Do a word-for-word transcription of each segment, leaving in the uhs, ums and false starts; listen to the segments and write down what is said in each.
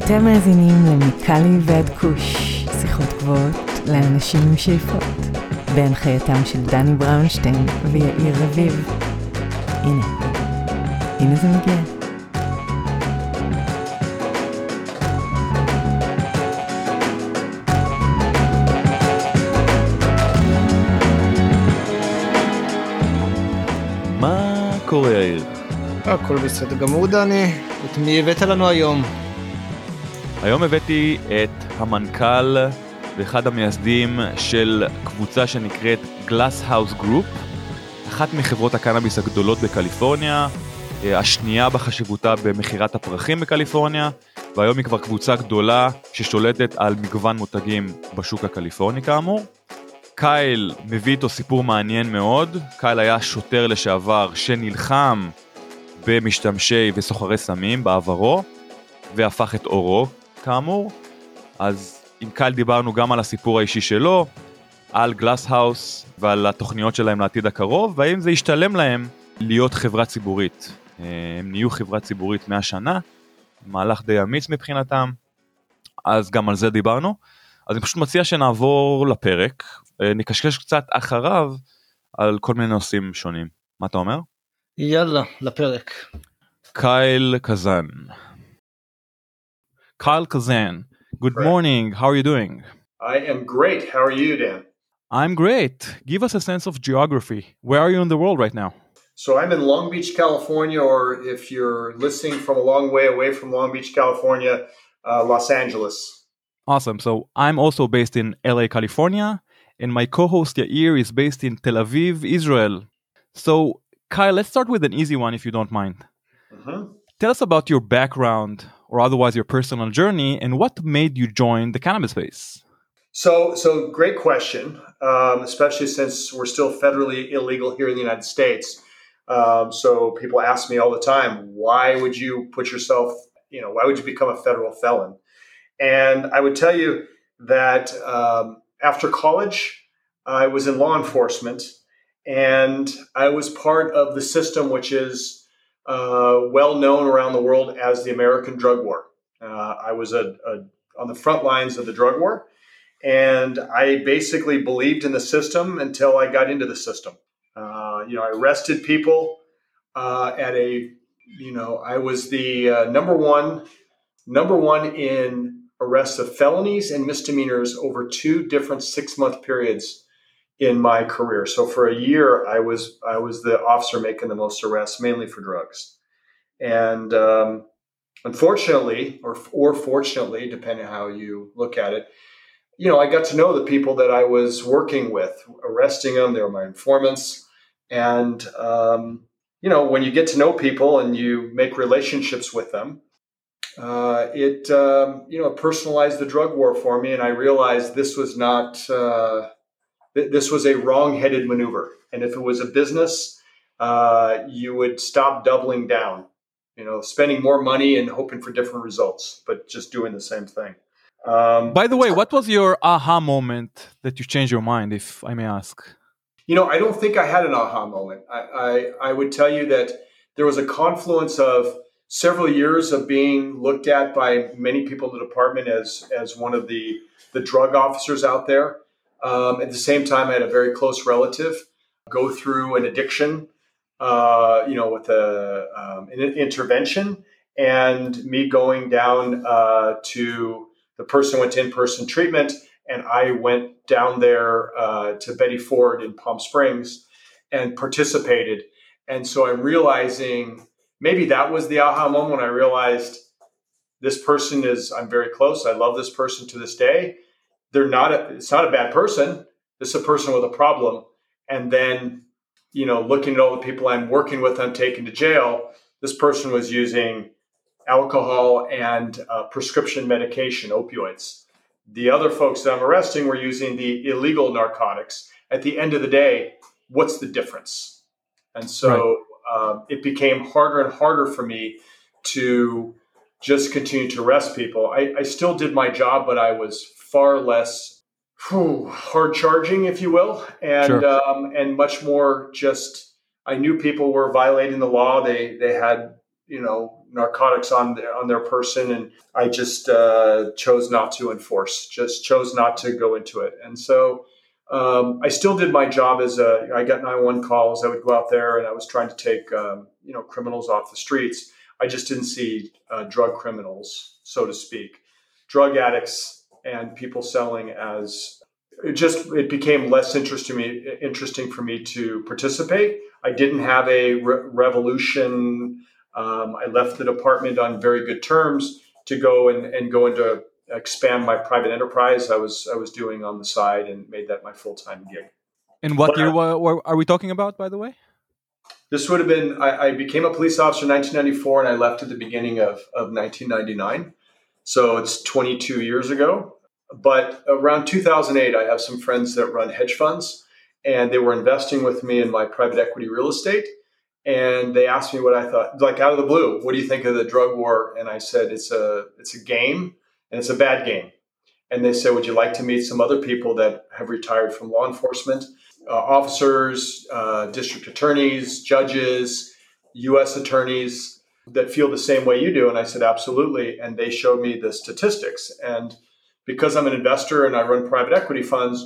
אתם מאזינים למיקלי ועד כוש, שיחות גבוהות לאנשים עם שאיפות, בהנחייתם של דני בראונשטיין ויאיר רביב. הנה, הנה זה מגיע. מה קורה יאיר? הכל בסדר גמור דני, את מי הבאת לנו היום? היום הבאתי את המנכ"ל ואחד המייסדים של קבוצה שנקראת Glasshouse Group, אחת מחברות הקנאביס הגדולות בקליפורניה, השנייה בחשיבותה במחירת הפרחים בקליפורניה, והיום היא כבר קבוצה גדולה ששולטת על מגוון מותגים בשוק הקליפורני כאמור. קייל מביא איתו סיפור מעניין מאוד. קייל היה שוטר לשעבר שנלחם במשתמשי וסוחרי סמים בעברו, והפך את אורו כאמור. אז עם קייל דיברנו גם על הסיפור האישי שלו, על גלאסהאוס ועל התוכניות שלהם לעתיד הקרוב, והאם זה ישתלם להם להיות חברה ציבורית. הם נהיו חברה ציבורית מאה שנה, מהלך די אמיץ מבחינתם, אז גם על זה דיברנו. אז אני פשוט מציע שנעבור לפרק, נקשקש קצת אחריו על כל מיני נושאים שונים. מה אתה אומר? יאללה, לפרק. קייל קזן. קייל קזן, good morning, how are you doing? I am great, how are you, Dan? I'm great. Give us a sense of geography. Where are you in the world right now? So I'm in Long Beach, California, or if you're listening from a long way away from Long Beach, California, uh, Los Angeles. Awesome. So I'm also based in L A, California, and my co-host Yair is based in Tel Aviv, Israel. So Kyle, let's start with an easy one if you don't mind. Mm-hmm. Tell us about your background or otherwise your personal journey and what made you join the cannabis space. So, so great question, um, especially since we're still federally illegal here in the United States. Um, so people ask me all the time, why would you put yourself, you know, why would you become a federal felon? And I would tell you that um, after college, I was in law enforcement, and I was part of the system which is uh, well known around the world as the American drug war. Uh, I was a, a, on the front lines of the drug war, and I basically believed in the system until I got into the system. Uh, you know, I arrested people uh, at a, you know, I was the uh, number one, number one in arrests of felonies and misdemeanors over two different six-month periods in my career. So for a year, I was I was the officer making the most arrests, mainly for drugs. And um, unfortunately, or or fortunately, depending on how you look at it, you know, I got to know the people that I was working with, arresting them. They were my informants. And, um, you know, when you get to know people and you make relationships with them, Uh, it, um, you know, personalized the drug war for me, and I realized this was not, uh, th- this was a wrong-headed maneuver. And if it was a business, uh, you would stop doubling down, you know, spending more money and hoping for different results, but just doing the same thing. Um, By the way, what was your aha moment that you changed your mind, if I may ask? You know, I don't think I had an aha moment. I, I, I would tell you that there was a confluence of several years of being looked at by many people in the department as as one of the, the drug officers out there. Um, at the same time, I had a very close relative go through an addiction, uh, you know, with a, um, an intervention, and me going down uh, to the person went to in-person treatment, and I went down there uh, to Betty Ford in Palm Springs and participated. And so I'm realizing, maybe that was the aha moment when I realized this person is, I'm very close. I love this person to this day. They're not, a, it's not a bad person. This is a person with a problem. And then, you know, looking at all the people I'm working with, I'm taken to jail. This person was using alcohol and uh, prescription medication, opioids. The other folks that I'm arresting were using the illegal narcotics. At the end of the day, what's the difference? And so, right. Um, it became harder and harder for me to just continue to arrest people. I, I still did my job, but I was far less whew, hard charging, if you will, and Sure. um, and much more just. I knew people were violating the law. They they had you know narcotics on their, on their person, and I just uh, chose not to enforce, just chose not to go into it. And so um, I still did my job as a, I got nine one one calls. I would go out there and I was trying to take, um, you know, criminals off the streets. I just didn't see uh, drug criminals, so to speak, drug addicts and people selling as, it just, it became less interest to me, interesting for me to participate. I didn't have a re- revolution. Um, I left the department on very good terms to go and, and go into expand my private enterprise I was I was doing on the side, and made that my full-time gig. And what But year I- wa- wa- are we talking about, by the way? This would have been, I, I became a police officer in nineteen ninety-four, and I left at the beginning of, of nineteen ninety-nine. So it's twenty-two years ago. But around two thousand eight, I have some friends that run hedge funds, and they were investing with me in my private equity real estate. And they asked me what I thought, like out of the blue, what do you think of the drug war? And I said, it's a, it's a game, and it's a bad game. And they said, would you like to meet some other people that have retired from law enforcement, uh, officers, uh, district attorneys, judges, U S attorneys that feel the same way you do? And I said, absolutely. And they showed me the statistics. And because I'm an investor and I run private equity funds,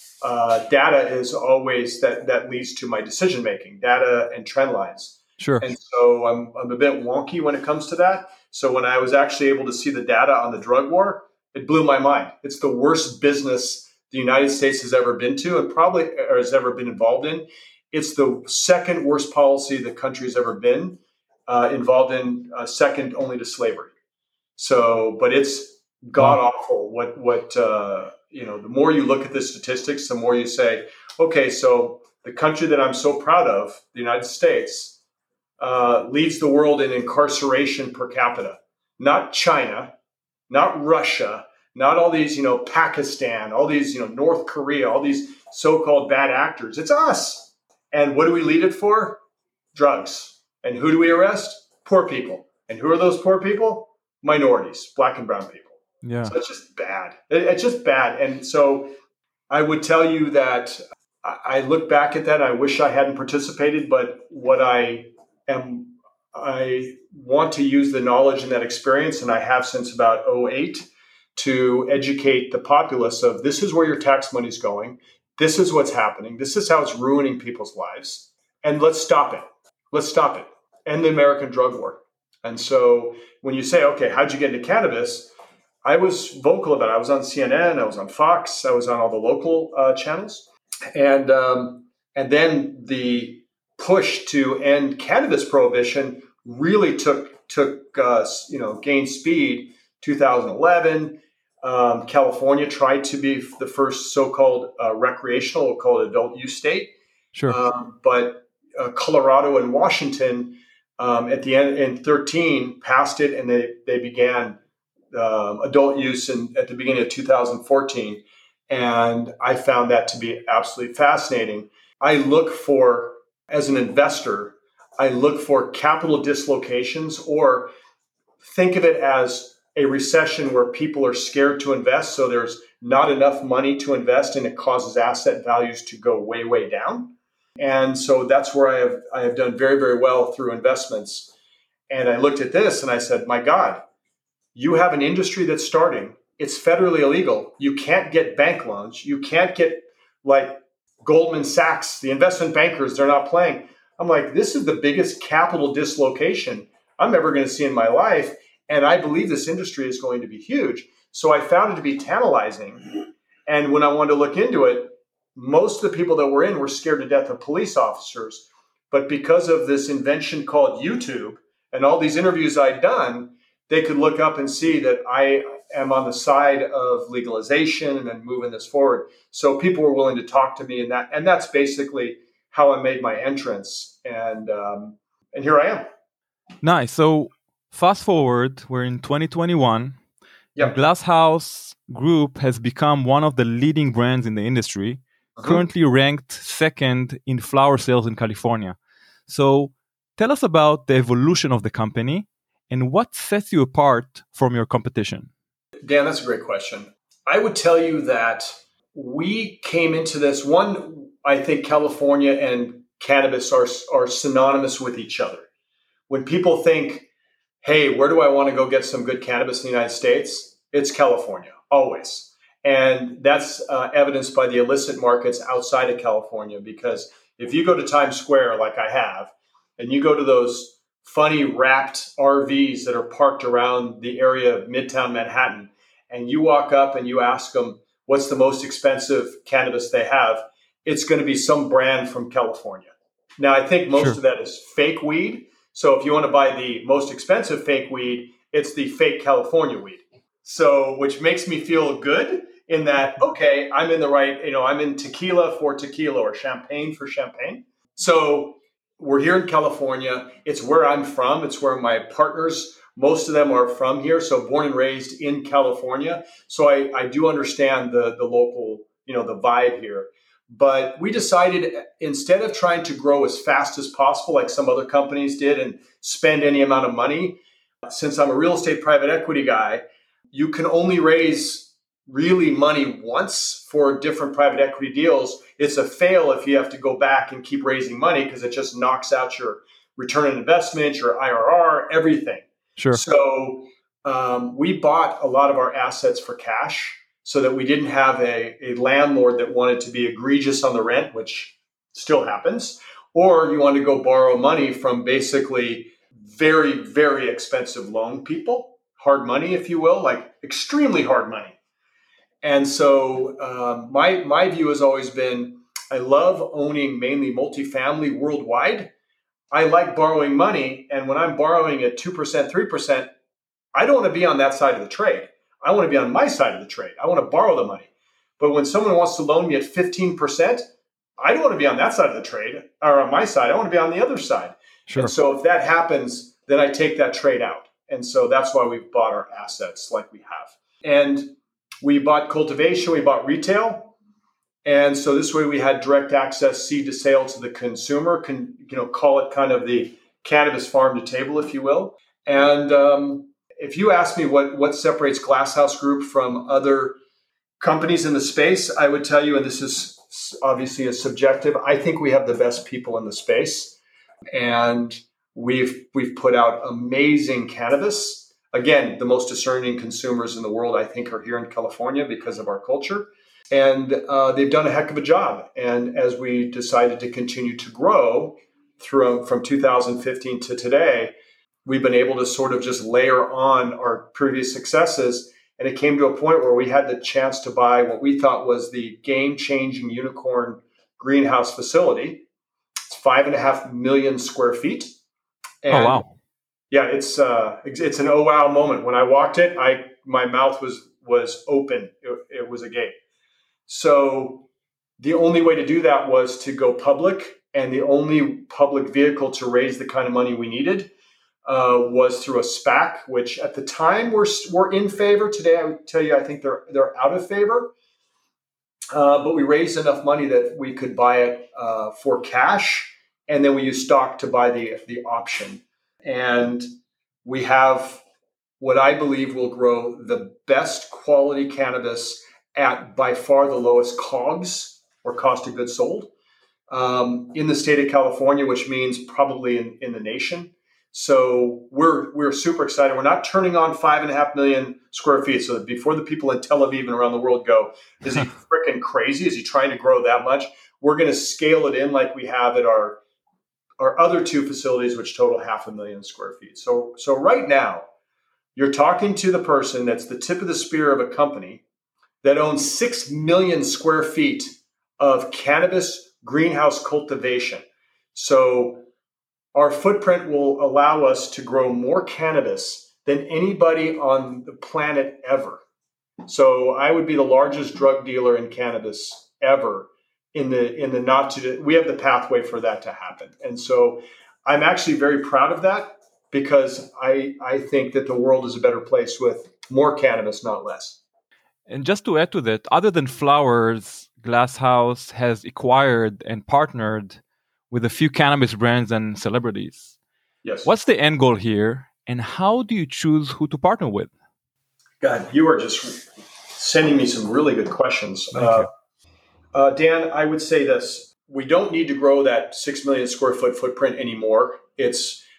uh, data is always that, that leads to my decision making, data and trend lines. Sure. And so I'm, I'm a bit wonky when it comes to that. So when I was actually able to see the data on the drug war, it blew my mind. It's the worst business the United States has ever been to, and probably or has ever been involved in. It's the second worst policy the country has ever been uh, involved in, uh, second only to slavery. So, but it's god awful. What what uh, you know? The more you look at the statistics, the more you say, okay, so the country that I'm so proud of, the United States, uh, leads the world in incarceration per capita. Not China, not Russia, not all these, you know, Pakistan, all these, you know, North Korea, all these so-called bad actors. It's us. And what do we lead it for? Drugs. And who do we arrest? Poor people. And who are those poor people? Minorities, black and brown people. Yeah. So it's just bad. It, it's just bad. And so I would tell you that I, I look back at that. I wish I hadn't participated, but what I am, I want to use the knowledge and that experience, and I have since about oh eight, to educate the populace of this is where your tax money is going. This is what's happening. This is how it's ruining people's lives. And let's stop it. Let's stop it. End the American drug war. And so when you say, okay, how'd you get into cannabis? I was vocal about it. I was on C N N. I was on Fox. I was on all the local uh, channels. And um, and then the push to end cannabis prohibition really took, took uh, you know, gained speed. two thousand eleven, um, California tried to be the first so-called uh, recreational, we'll call it adult use state. Sure. Um, but uh, Colorado and Washington um, at the end in thirteen passed it, and they, they began um, adult use in, at the beginning of two thousand fourteen. And I found that to be absolutely fascinating. I look for, as an investor, I look for capital dislocations, or think of it as a recession where people are scared to invest. So there's not enough money to invest, and it causes asset values to go way, way down. And so that's where I have, I have done very, very well through investments. And I looked at this and I said, my God, you have an industry that's starting. It's federally illegal. You can't get bank loans. You can't get like Goldman Sachs, the investment bankers, they're not playing. I'm like, this is the biggest capital dislocation I'm ever going to see in my life. And I believe this industry is going to be huge. So I found it to be tantalizing. And when I wanted to look into it, most of the people that were in were scared to death of police officers. But because of this invention called YouTube and all these interviews I'd done, they could look up and see that I am on the side of legalization and moving this forward. So people were willing to talk to me, and that, and that's basically how I made my entrance. And um, and here I am. Nice. So fast forward, we're in twenty twenty-one. Yep. Glass House Group has become one of the leading brands in the industry, uh-huh. currently ranked second in flower sales in California. So tell us about the evolution of the company and what sets you apart from your competition. Dan, that's a great question. I would tell you that we came into this, one, I think California and cannabis are, are synonymous with each other. When people think hey, where do I want to go get some good cannabis in the United States? It's California, always. And that's uh, evidenced by the illicit markets outside of California, because if you go to Times Square, like I have, and you go to those funny wrapped R Vs that are parked around the area of Midtown Manhattan, and you walk up and you ask them, what's the most expensive cannabis they have? It's going to be some brand from California. Now, I think most Sure. of that is fake weed. So if you want to buy the most expensive fake weed, it's the fake California weed. So, which makes me feel good in that, okay, I'm in the right, you know, I'm in tequila for tequila or champagne for champagne. So we're here in California. It's where I'm from. It's where my partners, most of them are from here. So born and raised in California. So I, I do understand the, the local, you know, the vibe here. But we decided, instead of trying to grow as fast as possible, like some other companies did, and spend any amount of money, since I'm a real estate private equity guy, you can only raise really money once for different private equity deals. It's a fail if you have to go back and keep raising money, because it just knocks out your return on investment, your I R R, everything. Sure. So um, we bought a lot of our assets for cash, so that we didn't have a, a landlord that wanted to be egregious on the rent, which still happens, or you want to go borrow money from basically very, very expensive loan people, hard money, if you will, like extremely hard money. And so um, my, my view has always been, I love owning mainly multifamily worldwide. I like borrowing money. And when I'm borrowing at two percent, three percent, I don't want to be on that side of the trade. I want to be on my side of the trade. I want to borrow the money. But when someone wants to loan me at fifteen percent, I don't want to be on that side of the trade or on my side. I want to be on the other side. Sure. And so if that happens, then I take that trade out. And so that's why we've bought our assets like we have. And we bought cultivation, we bought retail. And so this way we had direct access, seed to sale to the consumer, can, you know, call it kind of the cannabis farm to table, if you will. And, um, if you ask me what, what separates Glass House Group from other companies in the space, I would tell you, and this is obviously a subjective, I think we have the best people in the space. And we've we've put out amazing cannabis. Again, the most discerning consumers in the world, I think, are here in California because of our culture. And uh, they've done a heck of a job. And as we decided to continue to grow through from two thousand fifteen to today, we've been able to sort of just layer on our previous successes. And it came to a point where we had the chance to buy what we thought was the game-changing unicorn greenhouse facility. It's five and a half million square feet. And oh, wow. Yeah, it's uh, it's an oh wow moment. When I walked it, I my mouth was was open. It, it was a gate. So the only way to do that was to go public, and the only public vehicle to raise the kind of money we needed Uh, was through a SPAC, which at the time were were in favor. Today, I would tell you, I think they're they're out of favor. Uh, but we raised enough money that we could buy it uh, for cash, and then we used stock to buy the the option. And we have what I believe will grow the best quality cannabis at by far the lowest COGS, or cost of goods sold, um, in the state of California, which means probably in, in the nation. So we're we're super excited. We're not turning on five and a half million square feet. So that before the people in Tel Aviv and around the world go, is he freaking crazy? Is he trying to grow that much? We're going to scale it in like we have at our our other two facilities, which total half a million square feet. So so right now, you're talking to the person that's the tip of the spear of a company that owns six million square feet of cannabis greenhouse cultivation. So our footprint will allow us to grow more cannabis than anybody on the planet ever. So I would be the largest drug dealer in cannabis ever in the in the not to we have the pathway for that to happen. And so I'm actually very proud of that, because I I think that the world is a better place with more cannabis, not less. And just to add to that, other than flowers, Glass House has acquired and partnered with a few cannabis brands and celebrities. Yes. What's the end goal here, and how do you choose who to partner with? God, you are just sending me some really good questions. Uh, uh, Dan, I would say this. We don't need to grow that six million square foot footprint anymore. It's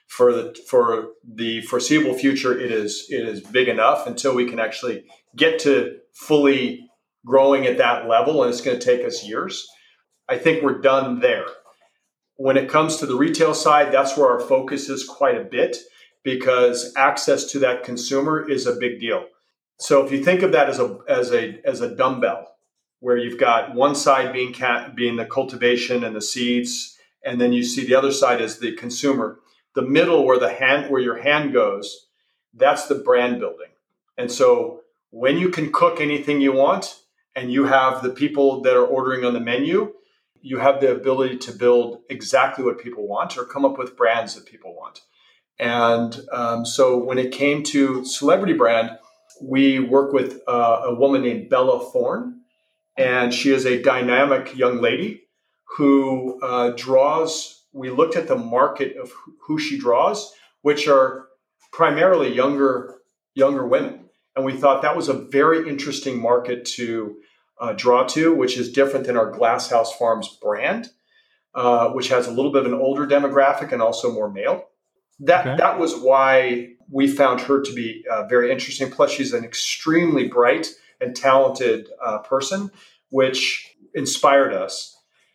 for the for the foreseeable future, it is it is big enough until we can actually get to fully growing at that level, and it's going to take us years. I think we're done there. When it comes to the retail side, that's where our focus is quite a bit, because access to that consumer is a big deal. So if you think of that as a as a as a dumbbell, where you've got one side being cat, being the cultivation and the seeds, and then you see the other side as the consumer. The middle, where the hand where your hand goes, that's the brand building. And so when you can cook anything you want, and you have the people that are ordering on the menu, you have the ability to build exactly what people want or come up with brands that people want. And um, so when it came to celebrity brand, we work with uh, a woman named Bella Thorne, and she is a dynamic young lady who uh, draws. We looked at the market of who she draws, which are primarily younger younger women, and we thought that was a very interesting market to uh, draw to, which is different than our Glasshouse Farms brand, uh, which has a little bit of an older demographic and also more male. That okay. That was why we found her to be uh, very interesting. Plus, she's an extremely bright and talented uh, person, which inspired us.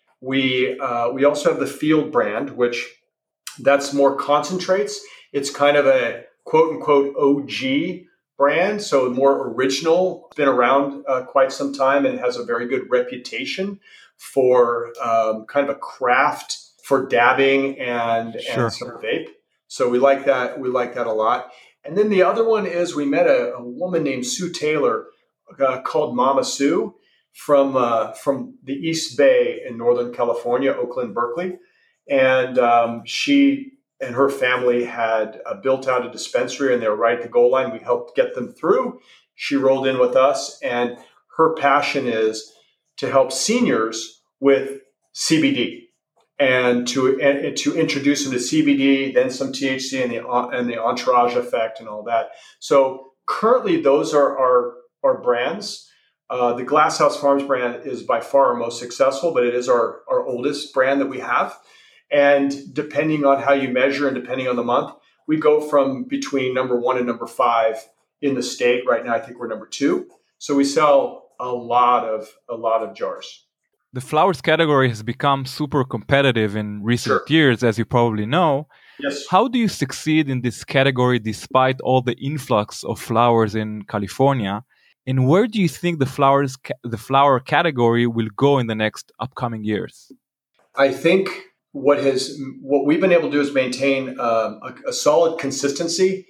We uh, we also have the Field brand, which that's more concentrates. It's kind of a quote unquote O G brand, so more original. It's been around uh, quite some time and has a very good reputation for um, kind of a craft for dabbing and, sure. and some vape. So we like that. We like that a lot. And then the other one is we met a, a woman named Sue Taylor uh, called Mama Sue from uh, from the East Bay in Northern California, Oakland, Berkeley. And um, she and her family had uh, built out a dispensary, and they were right at the goal line. We helped get them through. She rolled in with us, and her passion is to help seniors with C B D. And to and to introduce them to C B D, then some T H C and the and the entourage effect and all that. So currently, those are our our brands. Uh, the Glasshouse Farms brand is by far our most successful, but it is our our oldest brand that we have. And depending on how you measure and depending on the month, we go from between number one and number five in the state. Right now, I think we're number two. So we sell a lot of a lot of jars. The flowers category has become super competitive in recent sure. years, as you probably know. Yes. How do you succeed in this category despite all the influx of flowers in California? And where do you think the flowers, the flower category will go in the next upcoming years? I think what has what we've been able to do is maintain um, a, a solid consistency.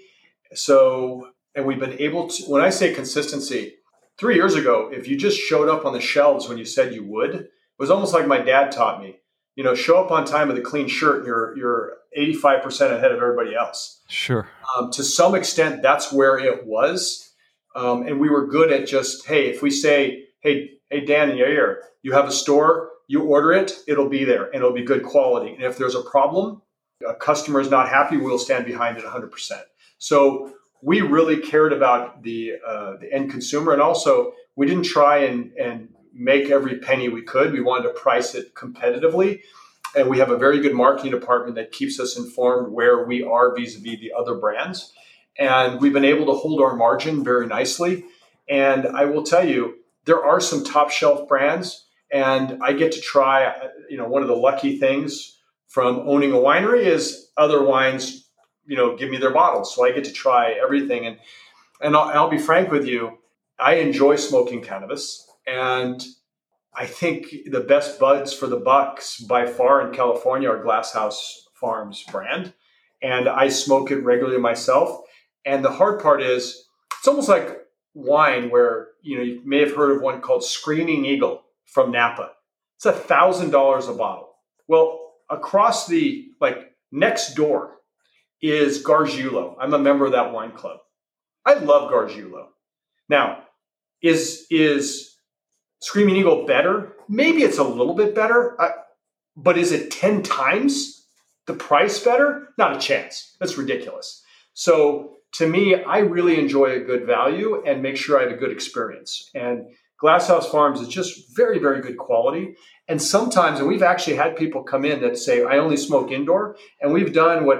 So, and we've been able to. When I say consistency, three years ago, if you just showed up on the shelves when you said you would. It was almost like my dad taught me, you know, show up on time with a clean shirt and you're, you're eighty-five percent ahead of everybody else. Sure. Um, to some extent, that's where it was. Um, and we were good at just, hey, if we say, hey, hey, Dan and Yair, you have a store, you order it, it'll be there and it'll be good quality. And if there's a problem, a customer is not happy, we'll stand behind it one hundred percent. So we really cared about the uh, the end consumer. And also, we didn't try and, and make every penny we could. We wanted to price it competitively. And we have a very good marketing department that keeps us informed where we are vis-a-vis the other brands. And we've been able to hold our margin very nicely. And I will tell you, there are some top shelf brands. And I get to try, you know, one of the lucky things from owning a winery is other wines, you know, give me their bottles. So I get to try everything. And, and I'll, I'll be frank with you, I enjoy smoking cannabis. And I think the best buds for the bucks by far in California are Glasshouse Farms brand. And I smoke it regularly myself. And the hard part is it's almost like wine where, you know, you may have heard of one called Screaming Eagle from Napa. It's a thousand dollars a bottle. Well, across the, like next door is Gargiulo. I'm a member of that wine club. I love Gargiulo. Now, is, is, Screaming Eagle better? Maybe it's a little bit better, uh, but is it ten times the price better? Not a chance. That's ridiculous. So to me, I really enjoy a good value and make sure I have a good experience. And Glasshouse Farms is just very, very good quality. And sometimes, and we've actually had people come in that say, I only smoke indoor. And we've done what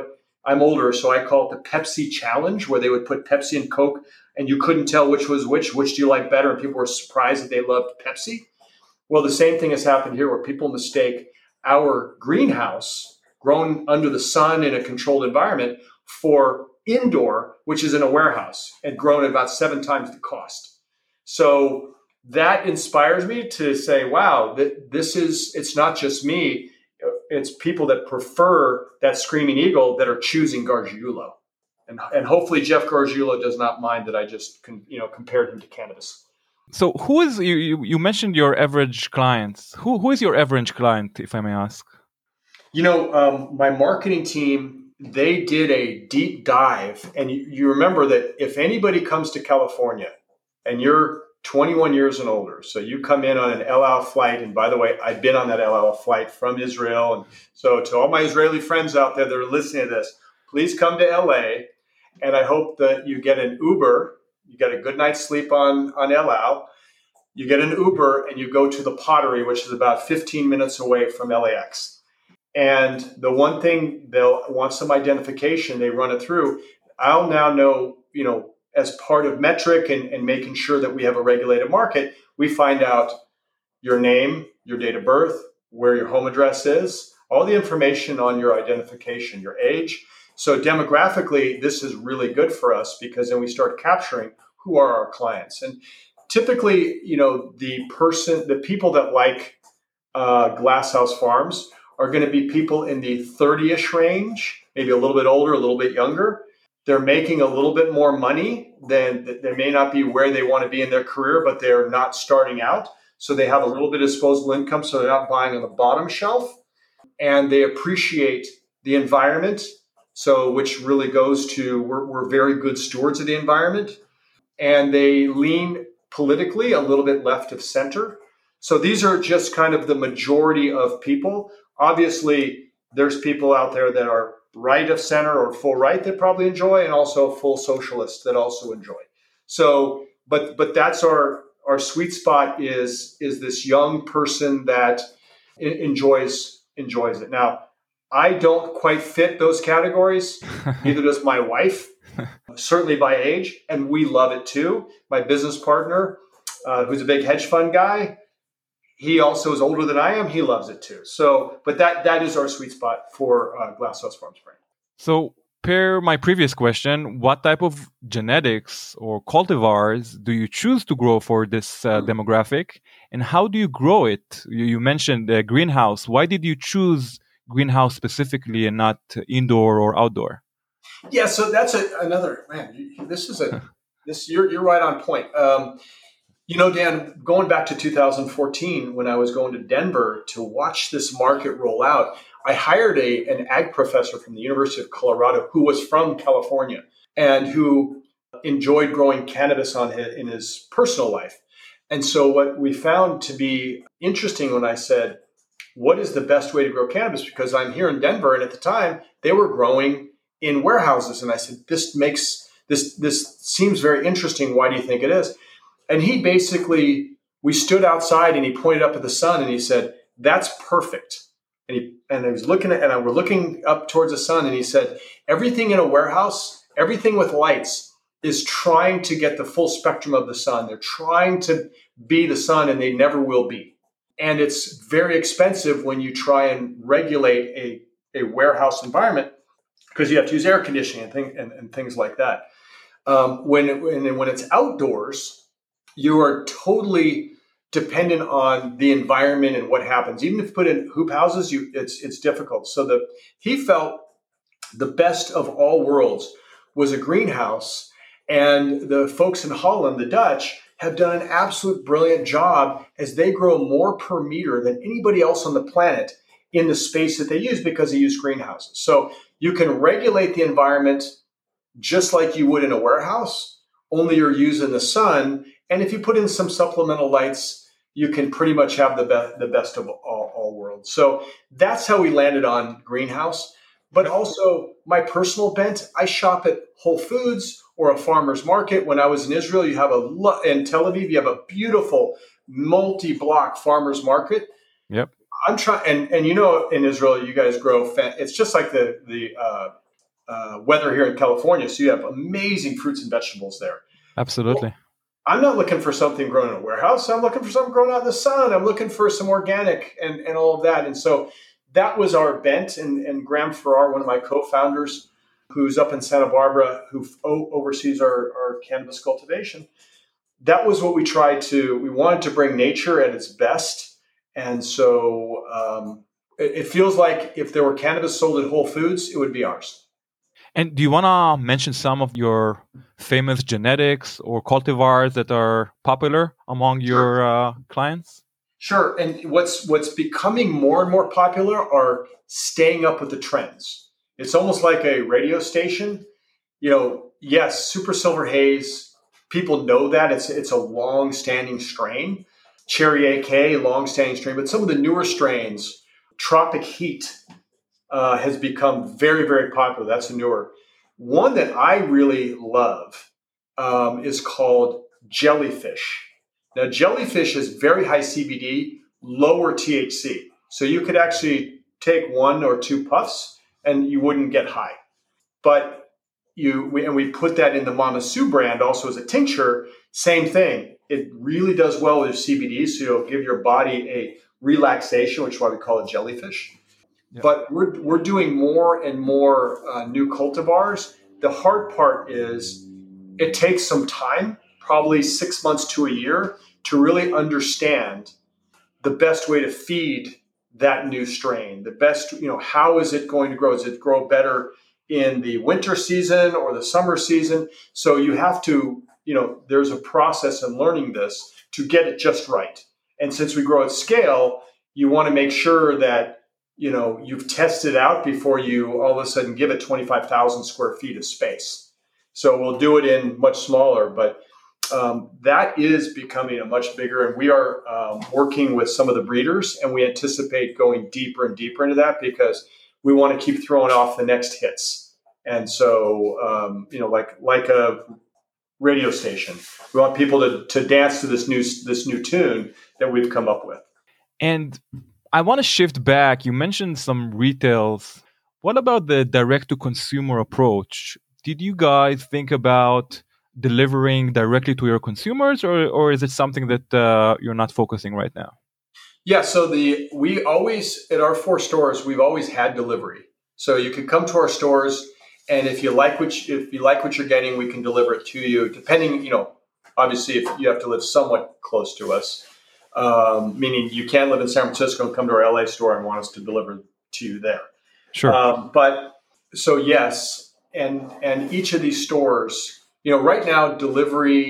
I'm older, so I call it the Pepsi challenge, where they would put Pepsi and Coke and you couldn't tell which was which, which do you like better? And people were surprised that they loved Pepsi. Well, the same thing has happened here where people mistake our greenhouse grown under the sun in a controlled environment for indoor, which is in a warehouse and grown at about seven times the cost. So that inspires me to say, wow, that this is, it's not just me. It's people that prefer that Screaming Eagle that are choosing Gargiulo. And, and hopefully Jeff Gargiulo does not mind that I just con, you know compared him to cannabis. So who is, you, you, you mentioned your average clients. Who Who is your average client, if I may ask? You know, um, my marketing team, they did a deep dive. And you, you remember that if anybody comes to California and you're twenty-one years and older, so you come in on an El Al flight, and by the way, I've been on that El Al flight from Israel. And so to all my Israeli friends out there that are listening to this, please come to L A, and I hope that you get an Uber. You get a good night's sleep on, on El Al. You get an Uber and you go to the Pottery, which is about fifteen minutes away from L A X. And the one thing they'll want some identification, they run it through. I'll now know, you know, as part of metric and, and making sure that we have a regulated market, we find out your name, your date of birth, where your home address is, all the information on your identification, your age. So demographically, this is really good for us because then we start capturing who are our clients. And typically, you know, the person, the people that like uh, Glasshouse Farms are going to be people in the thirty-ish range, maybe a little bit older, a little bit younger. They're making a little bit more money than, they may not be where they want to be in their career, but they're not starting out. So they have a little bit of disposable income, so they're not buying on the bottom shelf. And they appreciate the environment. So, which really goes to, we're, we're very good stewards of the environment, and they lean politically a little bit left of center. So these are just kind of the majority of people. Obviously, there's people out there that are right of center or full right that probably enjoy, and also full socialists that also enjoy. So, but but that's our our sweet spot is is this young person that enjoys enjoys it. Now, I don't quite fit those categories. Neither does my wife, certainly by age, and we love it too. My business partner, uh, who's a big hedge fund guy, he also is older than I am. He loves it too. So, but that that is our sweet spot for uh, Glasshouse Farms brand. So, per my previous question, what type of genetics or cultivars do you choose to grow for this uh, mm-hmm. demographic, and how do you grow it? You, you mentioned the greenhouse. Why did you choose greenhouse specifically and not indoor or outdoor? Yeah, so that's a, another man. You, this is a this you're you're right on point. Um, you know, Dan, going back to two thousand fourteen when I was going to Denver to watch this market roll out, I hired a an ag professor from the University of Colorado who was from California and who enjoyed growing cannabis on his, in his personal life. And so what we found to be interesting when I said, what is the best way to grow cannabis? Because I'm here in Denver, and at the time they were growing in warehouses. And I said, this makes this, this seems very interesting. Why do you think it is? And he basically, we stood outside and he pointed up at the sun and he said, that's perfect. And he, and I was looking at, and I were looking up towards the sun, and he said, everything in a warehouse, everything with lights is trying to get the full spectrum of the sun. They're trying to be the sun, and they never will be. And it's very expensive when you try and regulate a, a warehouse environment because you have to use air conditioning and, thing, and, and things like that. Um, when, it, when, when it's outdoors, you are totally dependent on the environment and what happens. Even if you put in hoop houses, you, it's it's difficult. So the he felt the best of all worlds was a greenhouse, and the folks in Holland, the Dutch, have done an absolute brilliant job as they grow more per meter than anybody else on the planet in the space that they use because they use greenhouses. So you can regulate the environment just like you would in a warehouse, only you're using the sun. And if you put in some supplemental lights, you can pretty much have the, be- the best of all, all worlds. So that's how we landed on greenhouse. But also my personal bent, I shop at Whole Foods or a farmer's market. When I was in Israel, you have a lo- in Tel Aviv, you have a beautiful multi-block farmer's market. Yep. I'm trying, and, and you know, in Israel, you guys grow. Fa- it's just like the the uh, uh, weather here in California, so you have amazing fruits and vegetables there. Absolutely. Well, I'm not looking for something grown in a warehouse. I'm looking for something grown out in the sun. I'm looking for some organic and, and all of that. And so that was our bent. And, and Graham Farrar, one of my co-founders, who's up in Santa Barbara, who o- oversees our, our cannabis cultivation, that was what we tried to, we wanted to bring nature at its best. And so um, it, it feels like if there were cannabis sold at Whole Foods, it would be ours. And do you want to mention some of your famous genetics or cultivars that are popular among your uh, clients? Sure. And what's what's becoming more and more popular are staying up with the trends. It's almost like a radio station. You know, yes, Super Silver Haze, people know that. It's it's a long-standing strain. Cherry A K, long-standing strain. But some of the newer strains, Tropic Heat, Uh, has become very, very popular. That's a newer one that I really love um, is called Jellyfish. Now, Jellyfish is very high C B D, lower T H C. So you could actually take one or two puffs and you wouldn't get high. But you we, and we put that in the Mama Sue brand also as a tincture. Same thing. It really does well with C B D, so you'll give your body a relaxation, which is why we call it Jellyfish. Yeah. But we're we're doing more and more uh, new cultivars. The hard part is it takes some time, probably six months to a year, to really understand the best way to feed that new strain. The best, you know, how is it going to grow? Does it grow better in the winter season or the summer season? So you have to, you know, there's a process in learning this to get it just right. And since we grow at scale, you want to make sure that you know, you've tested out before you all of a sudden give it twenty-five thousand square feet of space. So we'll do it in much smaller, but um, that is becoming a much bigger, and we are um, working with some of the breeders, and we anticipate going deeper and deeper into that because we want to keep throwing off the next hits. And so, um, you know, like like a radio station, we want people to to dance to this new this new tune that we've come up with. And I want to shift back. You mentioned some retails. What about the direct-to-consumer approach? Did you guys think about delivering directly to your consumers, or, or is it something that uh, you're not focusing right now? Yeah, so the we always, at our four stores, we've always had delivery. So you can come to our stores, and if you like what you, if you like what you're getting, we can deliver it to you, depending, you know, obviously if you have to live somewhat close to us. Um, meaning you can live in San Francisco and come to our L A store and want us to deliver to you there. Sure. Um, but so yes, and and each of these stores, you know, right now delivery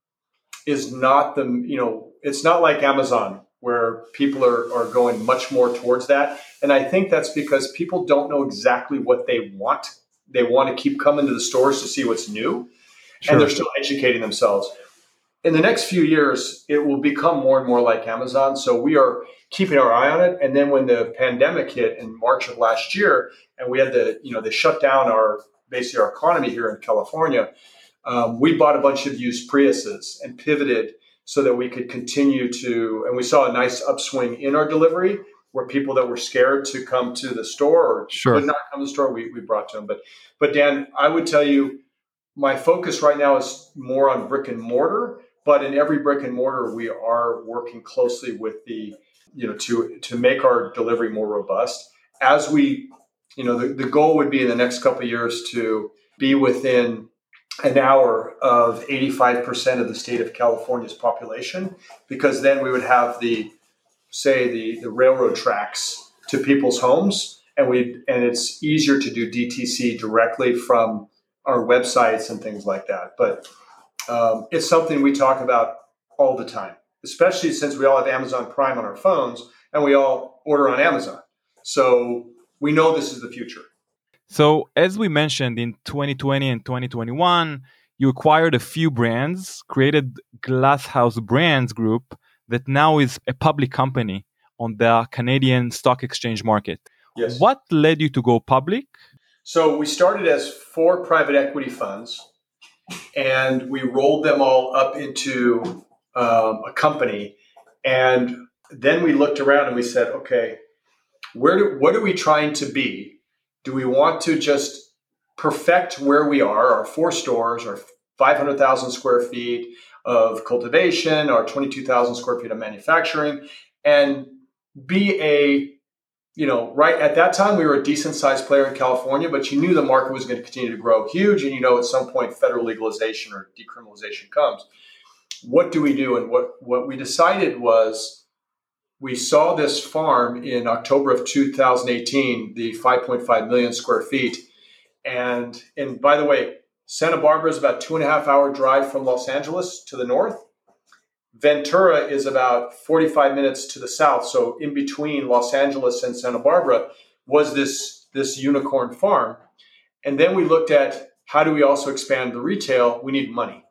is not the, you know, it's not like Amazon where people are are going much more towards that. And I think that's because people don't know exactly what they want. They want to keep coming to the stores to see what's new, sure. And they're still educating themselves. In the next few years, it will become more and more like Amazon. So we are keeping our eye on it. And then when the pandemic hit in March of last year, and we had the, you know, they shut down our, basically our economy here in California, um, we bought a bunch of used Priuses and pivoted so that we could continue to, and we saw a nice upswing in our delivery where people that were scared to come to the store or sure. could not come to the store, we, we brought to them. But, but Dan, I would tell you, my focus right now is more on brick and mortar. But in every brick and mortar, we are working closely with the, you know, to to make our delivery more robust. As we, you know, the, the goal would be in the next couple of years to be within an hour of eighty-five percent of the state of California's population, because then we would have the, say, the, the railroad tracks to people's homes, and we and it's easier to do D T C directly from our websites and things like that. But Um, it's something we talk about all the time, especially since we all have Amazon Prime on our phones and we all order on Amazon. So we know this is the future. So as we mentioned in twenty twenty and twenty twenty-one, you acquired a few brands, created Glass House Brands Group that now is a public company on the Canadian Stock Exchange market. Yes. What led you to go public? So we started as four private equity funds, and we rolled them all up into um, a company. And then we looked around and we said, okay, where do, what are we trying to be? Do we want to just perfect where we are, our four stores, our five hundred thousand square feet of cultivation, our twenty-two thousand square feet of manufacturing, and be a, you know, right at that time, we were a decent sized player in California, but you knew the market was going to continue to grow huge. And, you know, at some point, federal legalization or decriminalization comes. What do we do? And what, what we decided was we saw this farm in October of two thousand eighteen, the five point five million square feet. And, and by the way, Santa Barbara is about two and a half hour drive from Los Angeles to the north. Ventura is about forty-five minutes to the south. So in between Los Angeles and Santa Barbara was this, this unicorn farm. And then we looked at how do we also expand the retail? We need money.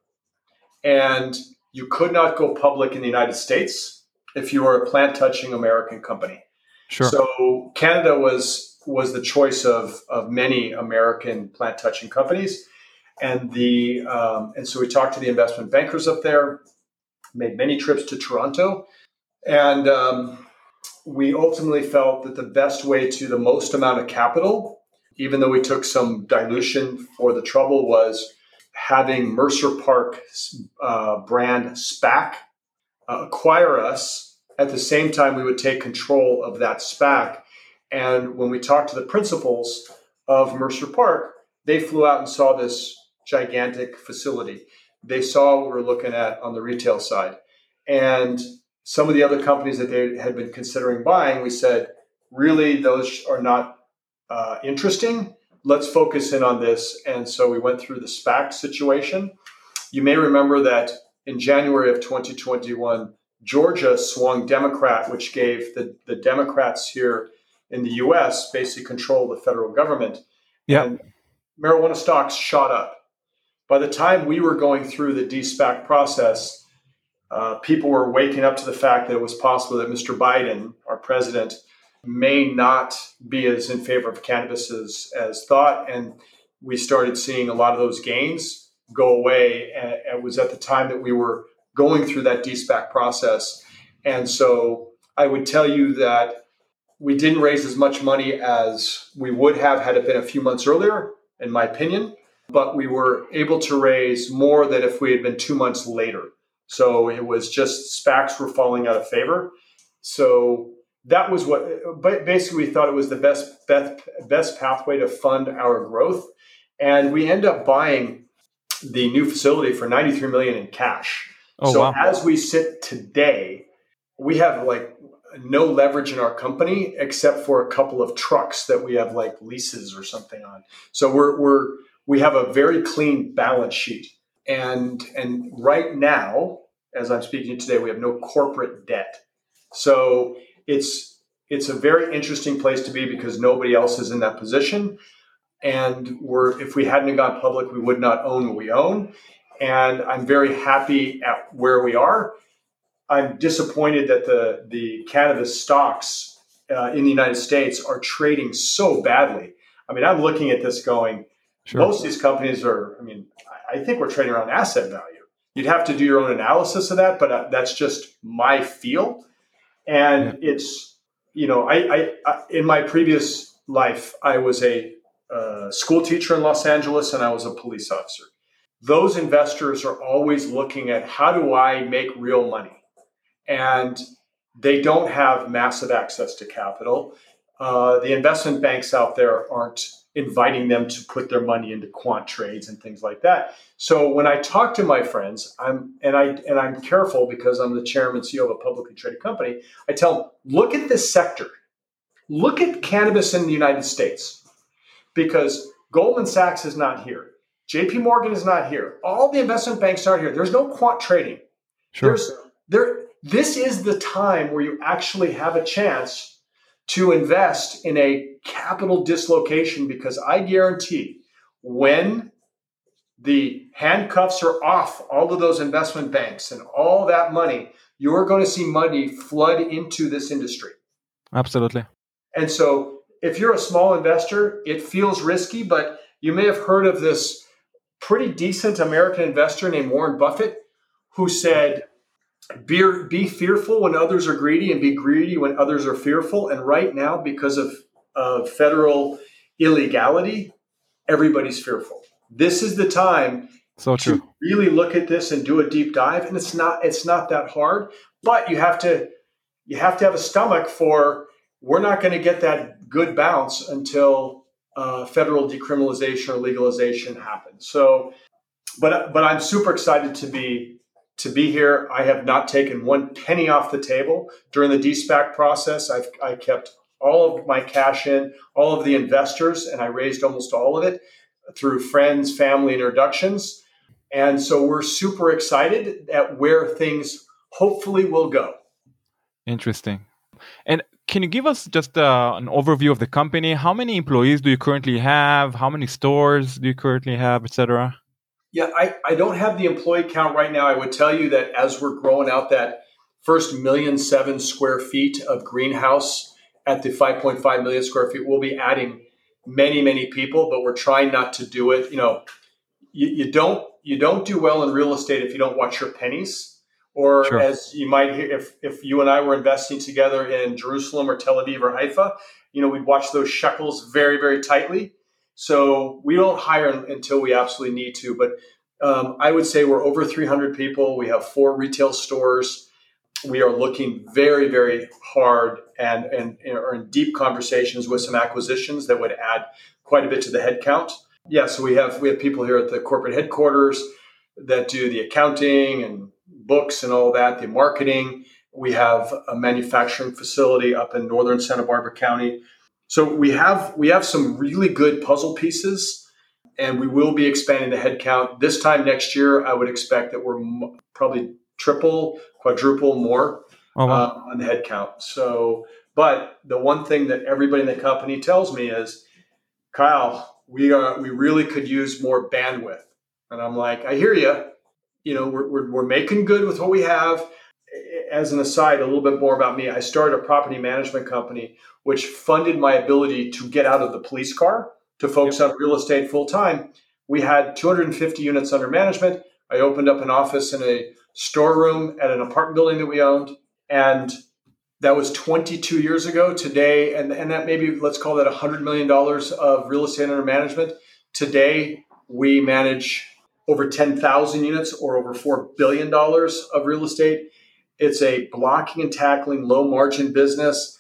And you could not go public in the United States if you were a plant-touching American company. Sure. So Canada was, was the choice of, of many American plant-touching companies. And, the, um, and so we talked to the investment bankers up there, made many trips to Toronto, and um, we ultimately felt that the best way to the most amount of capital, even though we took some dilution for the trouble, was having Mercer Park uh, brand SPAC uh, acquire us. At the same time, we would take control of that SPAC. And when we talked to the principals of Mercer Park, they flew out and saw this gigantic facility. They saw what we're looking at on the retail side. And some of the other companies that they had been considering buying, we said, really, those are not uh, interesting. Let's focus in on this. And so we went through the SPAC situation. You may remember that in January of twenty twenty-one, Georgia swung Democrat, which gave the, the Democrats here in the U S basically control of the federal government. Yeah. And marijuana stocks shot up. By the time we were going through the de-SPAC process, uh, people were waking up to the fact that it was possible that Mister Biden, our president, may not be as in favor of cannabis as, as thought. And we started seeing a lot of those gains go away. And it was at the time that we were going through that de-SPAC process. And so I would tell you that we didn't raise as much money as we would have had it been a few months earlier, in my opinion. But we were able to raise more than if we had been two months later. So it was just SPACs were falling out of favor. So that was what, but basically we thought it was the best, best, best pathway to fund our growth. And we end up buying the new facility for ninety-three million dollars in cash. Oh, so wow. As we sit today, we have like no leverage in our company except for a couple of trucks that we have like leases or something on. So we're, we're, we have a very clean balance sheet. And, and right now, as I'm speaking today, we have no corporate debt. So it's, it's a very interesting place to be because nobody else is in that position. And we're, if we hadn't gone public, we would not own what we own. And I'm very happy at where we are. I'm disappointed that the, the cannabis stocks uh, in the United States are trading so badly. I mean, I'm looking at this going, sure. Most of these companies are, I mean, I think we're trading around asset value. You'd have to do your own analysis of that, but uh, that's just my feel. And yeah. it's, you know, I, I, I in my previous life, I was a uh, school teacher in Los Angeles and I was a police officer. Those investors are always looking at how do I make real money? And they don't have massive access to capital. Uh, the investment banks out there aren't inviting them to put their money into quant trades and things like that. So when I talk to my friends, I'm and I and I'm careful because I'm the chairman and C E O of a publicly traded company. I tell them, look at this sector. Look at cannabis in the United States, because Goldman Sachs is not here. J P Morgan is not here. All the investment banks aren't here. There's no quant trading. Sure. There's there. This is the time where you actually have a chance to invest in a capital dislocation, because I guarantee when the handcuffs are off all of those investment banks and all that money, you're going to see money flood into this industry. Absolutely. And so if you're a small investor, it feels risky, but you may have heard of this pretty decent American investor named Warren Buffett, who said, Be, be fearful when others are greedy and be greedy when others are fearful. And right now, because of, of federal illegality, everybody's fearful. This is the time So true. to really look at this and do a deep dive. And it's not it's not that hard, but you have to you have to have a stomach for, we're not going to get that good bounce until uh, federal decriminalization or legalization happens. So, but but I'm super excited to be to be here. I have not taken one penny off the table during the de-SPAC process. I've I kept all of my cash in, all of the investors, and I raised almost all of it through friends, family, introductions. And so we're super excited at where things hopefully will go. Interesting. And can you give us just uh, an overview of the company? How many employees do you currently have? How many stores do you currently have, et cetera? Yeah, I, I don't have the employee count right now. I would tell you that as we're growing out that first million seven square feet of greenhouse at the five point five million square feet, we'll be adding many, many people, but we're trying not to do it. You know, you, you don't you don't do well in real estate if you don't watch your pennies. Or Sure. as you might hear, if, if you and I were investing together in Jerusalem or Tel Aviv or Haifa, you know, we'd watch those shekels very, very tightly. So we don't hire until we absolutely need to. But um, I would say we're over three hundred people. We have four retail stores. We are looking very, very hard and, and, and are in deep conversations with some acquisitions that would add quite a bit to the headcount. Yeah, so we have we have people here at the corporate headquarters that do the accounting and books and all that, the marketing. We have a manufacturing facility up in northern Santa Barbara County. So we have we have some really good puzzle pieces, and we will be expanding the headcount. This time next year, I would expect that we're m- probably triple, quadruple more Oh, wow. uh, on the headcount. So, but the one thing that everybody in the company tells me is, Kyle, we are we really could use more bandwidth. And I'm like, I hear you. You know, we're, we're we're making good with what we have. As an aside, a little bit more about me. I started a property management company, which funded my ability to get out of the police car to focus Yep. on real estate full time. We had two hundred fifty units under management. I opened up an office in a storeroom at an apartment building that we owned. And that was twenty-two years ago today. And, and that maybe, let's call that one hundred million dollars of real estate under management. Today, we manage over ten thousand units or over four billion dollars of real estate. It's a blocking and tackling, low margin business.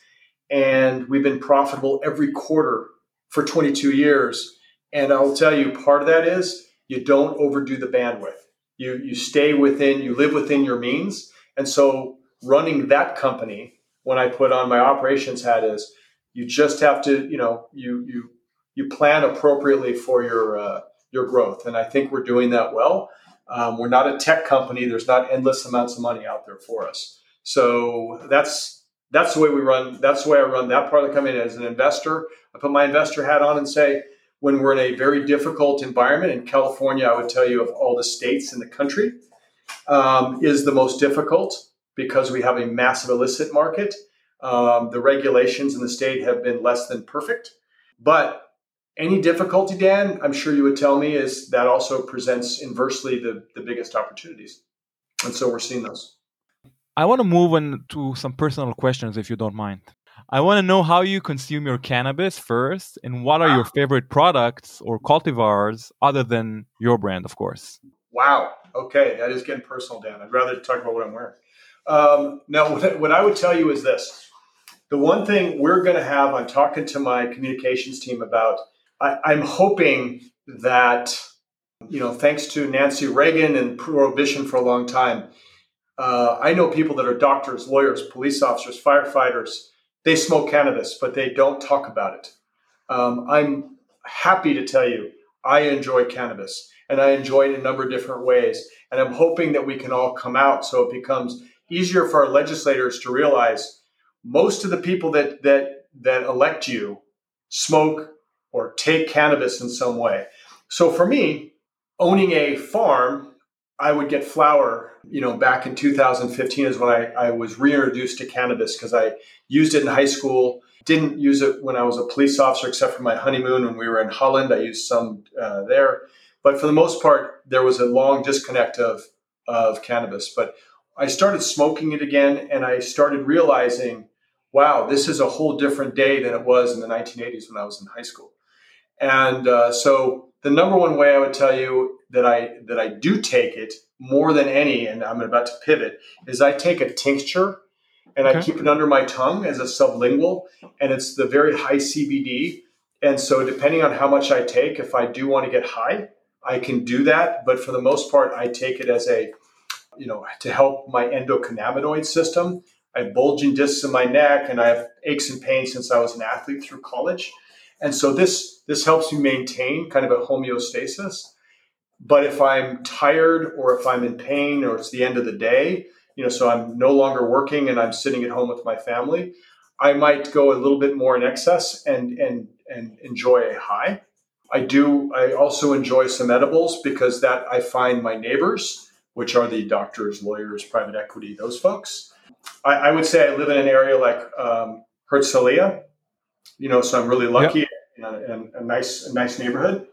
And we've been profitable every quarter for twenty-two years. And I'll tell you, part of that is you don't overdo the bandwidth. You, you stay within, you live within your means. And so running that company, when I put on my operations hat, is you just have to, you know, you, you, you plan appropriately for your, uh, your growth. And I think we're doing that well. Um, we're not a tech company. There's not endless amounts of money out there for us. So that's that's the way we run. That's the way I run that part of the company as an investor. I put my investor hat on and say, when we're in a very difficult environment in California, I would tell you of all the states in the country, um, is the most difficult because we have a massive illicit market. Um, the regulations in the state have been less than perfect, but any difficulty, Dan, I'm sure you would tell me, is that also presents inversely the, the biggest opportunities. And so we're seeing those. I want to move on to some personal questions, if you don't mind. I want to know how you consume your cannabis first, and what are your favorite products or cultivars other than your brand, of course. Wow. Okay. That is getting personal, Dan. I'd rather talk about what I'm wearing. Um, now, what, what I would tell you is this. The one thing we're going to have, I'm talking to my communications team about, I, I'm hoping that, you know, thanks to Nancy Reagan and Prohibition for a long time, uh, I know people that are doctors, lawyers, police officers, firefighters. They smoke cannabis, but they don't talk about it. Um, I'm happy to tell you, I enjoy cannabis, and I enjoy it in a number of different ways. And I'm hoping that we can all come out so it becomes easier for our legislators to realize most of the people that that that elect you smoke or take cannabis in some way. So for me, owning a farm, I would get flower, you know, back in two thousand fifteen is when I, I was reintroduced to cannabis because I used it in high school. Didn't use it when I was a police officer, except for my honeymoon when we were in Holland. I used some uh, there. But for the most part, there was a long disconnect of, of cannabis. But I started smoking it again, and I started realizing, wow, this is a whole different day than it was in the nineteen eighties when I was in high school. And uh, so the number one way I would tell you that I that I do take it more than any, and I'm about to pivot, is I take a tincture and Okay. I keep it under my tongue as a sublingual, and it's the very high C B D. And so depending on how much I take, if I do want to get high, I can do that. But for the most part, I take it as a, you know, to help my endocannabinoid system. I have bulging discs in my neck and I have aches and pains since I was an athlete through college. And so this, this helps me maintain kind of a homeostasis. But if I'm tired or if I'm in pain or it's the end of the day, you know, so I'm no longer working and I'm sitting at home with my family, I might go a little bit more in excess and, and, and enjoy a high. I do. I also enjoy some edibles because that I find my neighbors, which are the doctors, lawyers, private equity, those folks. I, I would say I live in an area like um, Herzliya, you know, so I'm really lucky Yep. in, a, in a nice, a nice neighborhood.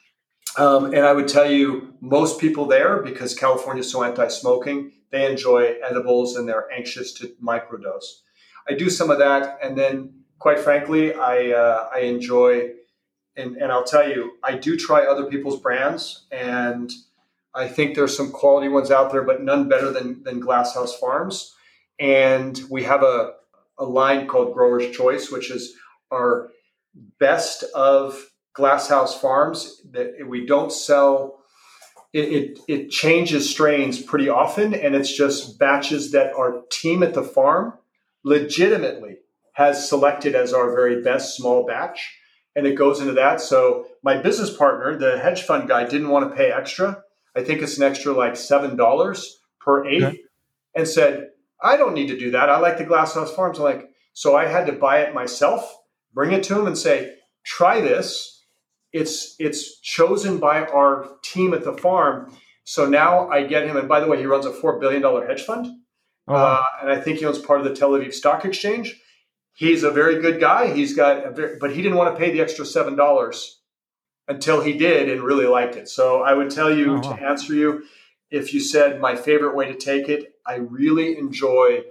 Um, and I would tell you, most people there, because California is so anti-smoking, they enjoy edibles and they're anxious to microdose. I do some of that, and then, quite frankly, I uh, I enjoy. And, and I'll tell you, I do try other people's brands, and I think there's some quality ones out there, but none better than, than Glasshouse Farms. And we have a, a line called Grower's Choice, which is our best of Glasshouse Farms. That we don't sell, it, it, it changes strains pretty often, and it's just batches that our team at the farm legitimately has selected as our very best small batch. And it goes into that. So my business partner, the hedge fund guy, didn't want to pay extra. I think it's an extra like seven dollars per eighth, Okay. and said, I don't need to do that. I like the Glasshouse Farms. I'm like, so I had to buy it myself, bring it to him and say, try this. It's it's chosen by our team at the farm. So now I get him. And by the way, he runs a four billion dollars hedge fund. Oh, wow. Uh, and I think he owns part of the Tel Aviv Stock Exchange. He's a very good guy. He's got, a very, but he didn't want to pay the extra seven dollars until he did and really liked it. So I would tell you, Oh, to wow. answer you, if you said my favorite way to take it, I really enjoy,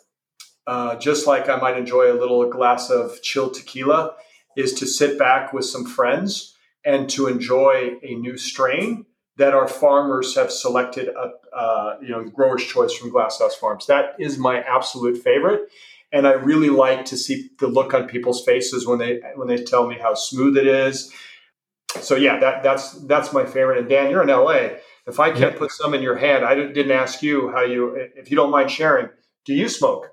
uh, just like I might enjoy a little glass of chilled tequila, is to sit back with some friends and to enjoy a new strain that our farmers have selected, a, uh, you know, Grower's Choice from Glasshouse Farms. That is my absolute favorite. And I really like to see the look on people's faces when they when they tell me how smooth it is. So yeah, that that's that's my favorite. And Dan, you're in L A. If I can't Yep. put some in your hand, I didn't ask you how you, if you don't mind sharing, do you smoke?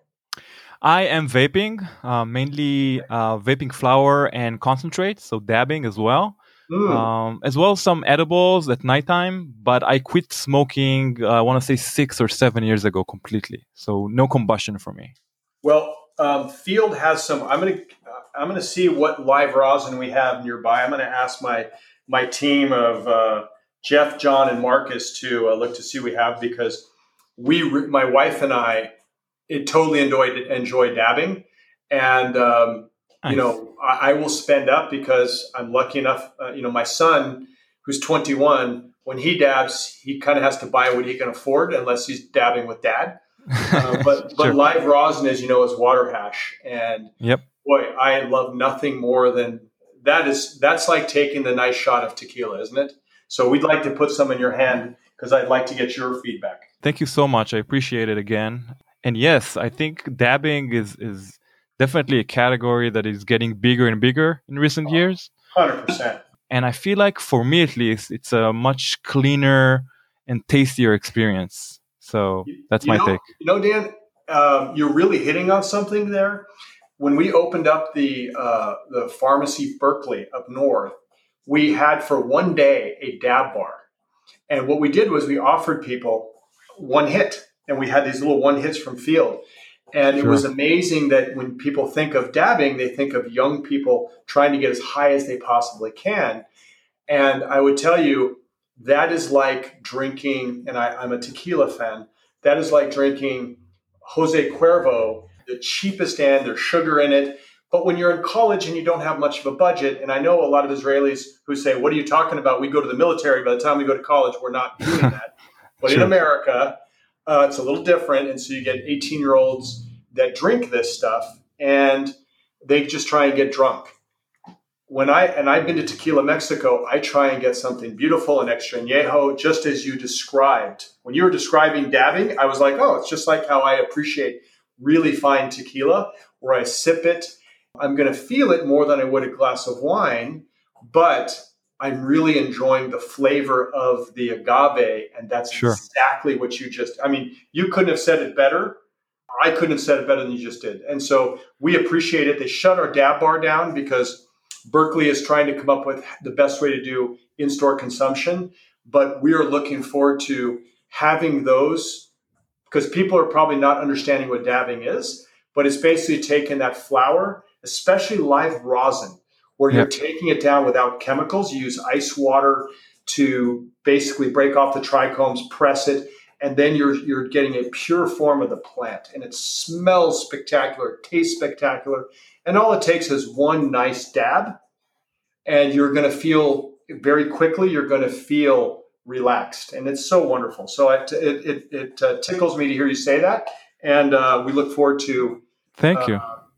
I am vaping, uh, mainly uh, vaping flower and concentrate, so dabbing as well. Mm. Um, as well as some edibles at nighttime, but I quit smoking, uh, I want to say six or seven years ago completely. So no combustion for me. Well, um, Field has some. I'm gonna uh, I'm gonna see what live rosin we have nearby. I'm gonna ask my my team of uh, Jeff, John, and Marcus to uh, look to see what we have, because we, re- my wife and I, it totally enjoyed enjoy dabbing, and um, Nice. you know I, I will spend up because I'm lucky enough. Uh, you know, my son, who's twenty-one, when he dabs, he kind of has to buy what he can afford, unless he's dabbing with dad. Uh, but but Sure. live rosin, as you know, is water hash, and Yep. boy, I love nothing more than that. Is that's like taking the nice shot of tequila, isn't it? So we'd like to put some in your hand because I'd like to get your feedback. Thank you so much. I appreciate it again. And yes, I think dabbing is is definitely a category that is getting bigger and bigger in recent years. Hundred percent. And I feel like for me at least, it's a much cleaner and tastier experience. So that's You my know, take. you know, Dan, um, you're really hitting on something there. When we opened up the uh, the pharmacy Berkeley up north, we had for one day a dab bar, and what we did was we offered people one hit, and we had these little one hits from Field, and it Sure. was amazing that when people think of dabbing, they think of young people trying to get as high as they possibly can, and I would tell you, that is like drinking, and I, I'm a tequila fan, that is like drinking Jose Cuervo, the cheapest and there's sugar in it. But when you're in college and you don't have much of a budget, and I know a lot of Israelis who say, what are you talking about? We go to the military. By the time we go to college, we're not doing that. But in Sure. America, uh, it's a little different. And so you get eighteen-year-olds that drink this stuff, and they just try and get drunk. when I, and I've been to Tequila, Mexico, I try and get something beautiful and extra añejo, just as you described. When you were describing dabbing, I was like, oh, it's just like how I appreciate really fine tequila, where I sip it. I'm going to feel it more than I would a glass of wine, but I'm really enjoying the flavor of the agave. And that's Sure. exactly what you just, I mean, you couldn't have said it better. I couldn't have said it better than you just did. And so we appreciate it. They shut our dab bar down because Berkeley is trying to come up with the best way to do in-store consumption. But we are looking forward to having those, because people are probably not understanding what dabbing is, but it's basically taking that flower, especially live rosin, where Yeah. you're taking it down without chemicals. You use ice water to basically break off the trichomes, press it, and then you're you're getting a pure form of the plant. And it smells spectacular, it tastes spectacular. And all it takes is one nice dab, and you're going to feel very quickly, you're going to feel relaxed. And it's so wonderful. So it it, it, it uh, tickles me to hear you say that. And uh, we look forward to Thank uh, you.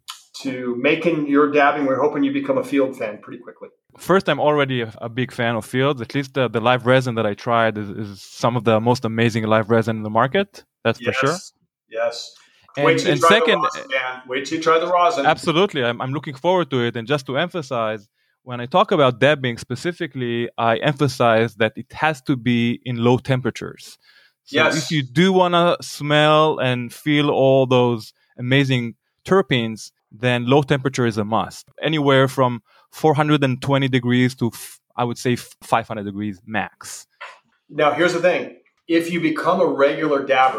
to making your dabbing. We're hoping you become a Field fan pretty quickly. First, I'm already a, a big fan of Fields. At least the, the live resin that I tried is, is some of the most amazing live resin in the market. That's Yes. for sure. Yes. And, Wait till and you try second, the rosin, Dan. Wait till you try the rosin. absolutely, I'm, I'm looking forward to it. And just to emphasize, when I talk about dabbing specifically, I emphasize that it has to be in low temperatures. So Yes. if you do want to smell and feel all those amazing terpenes, then low temperature is a must. Anywhere from four hundred twenty degrees to, f- I would say, five hundred degrees max. Now, here's the thing. If you become a regular dabber,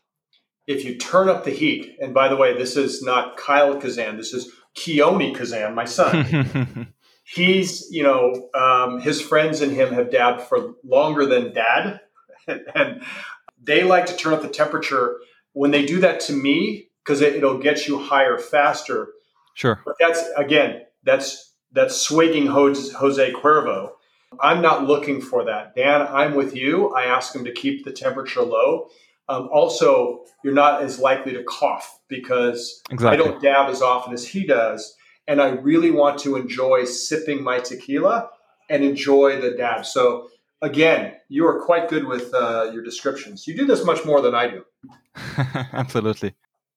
if you turn up the heat, and by the way, this is not Kyle Kazan, this is Keone Kazan, my son. He's, you know, um, his friends and him have dabbed for longer than dad. And they like to turn up the temperature. When they do that to me, because it, it'll get you higher faster. Sure. But that's, again, that's that's swigging Jose, Jose Cuervo. I'm not looking for that. Dan, I'm with you. I ask him to keep the temperature low. Um, also, you're not as likely to cough because Exactly. I don't dab as often as he does. And I really want to enjoy sipping my tequila and enjoy the dab. So again, you are quite good with uh, your descriptions. You do this much more than I do. Absolutely.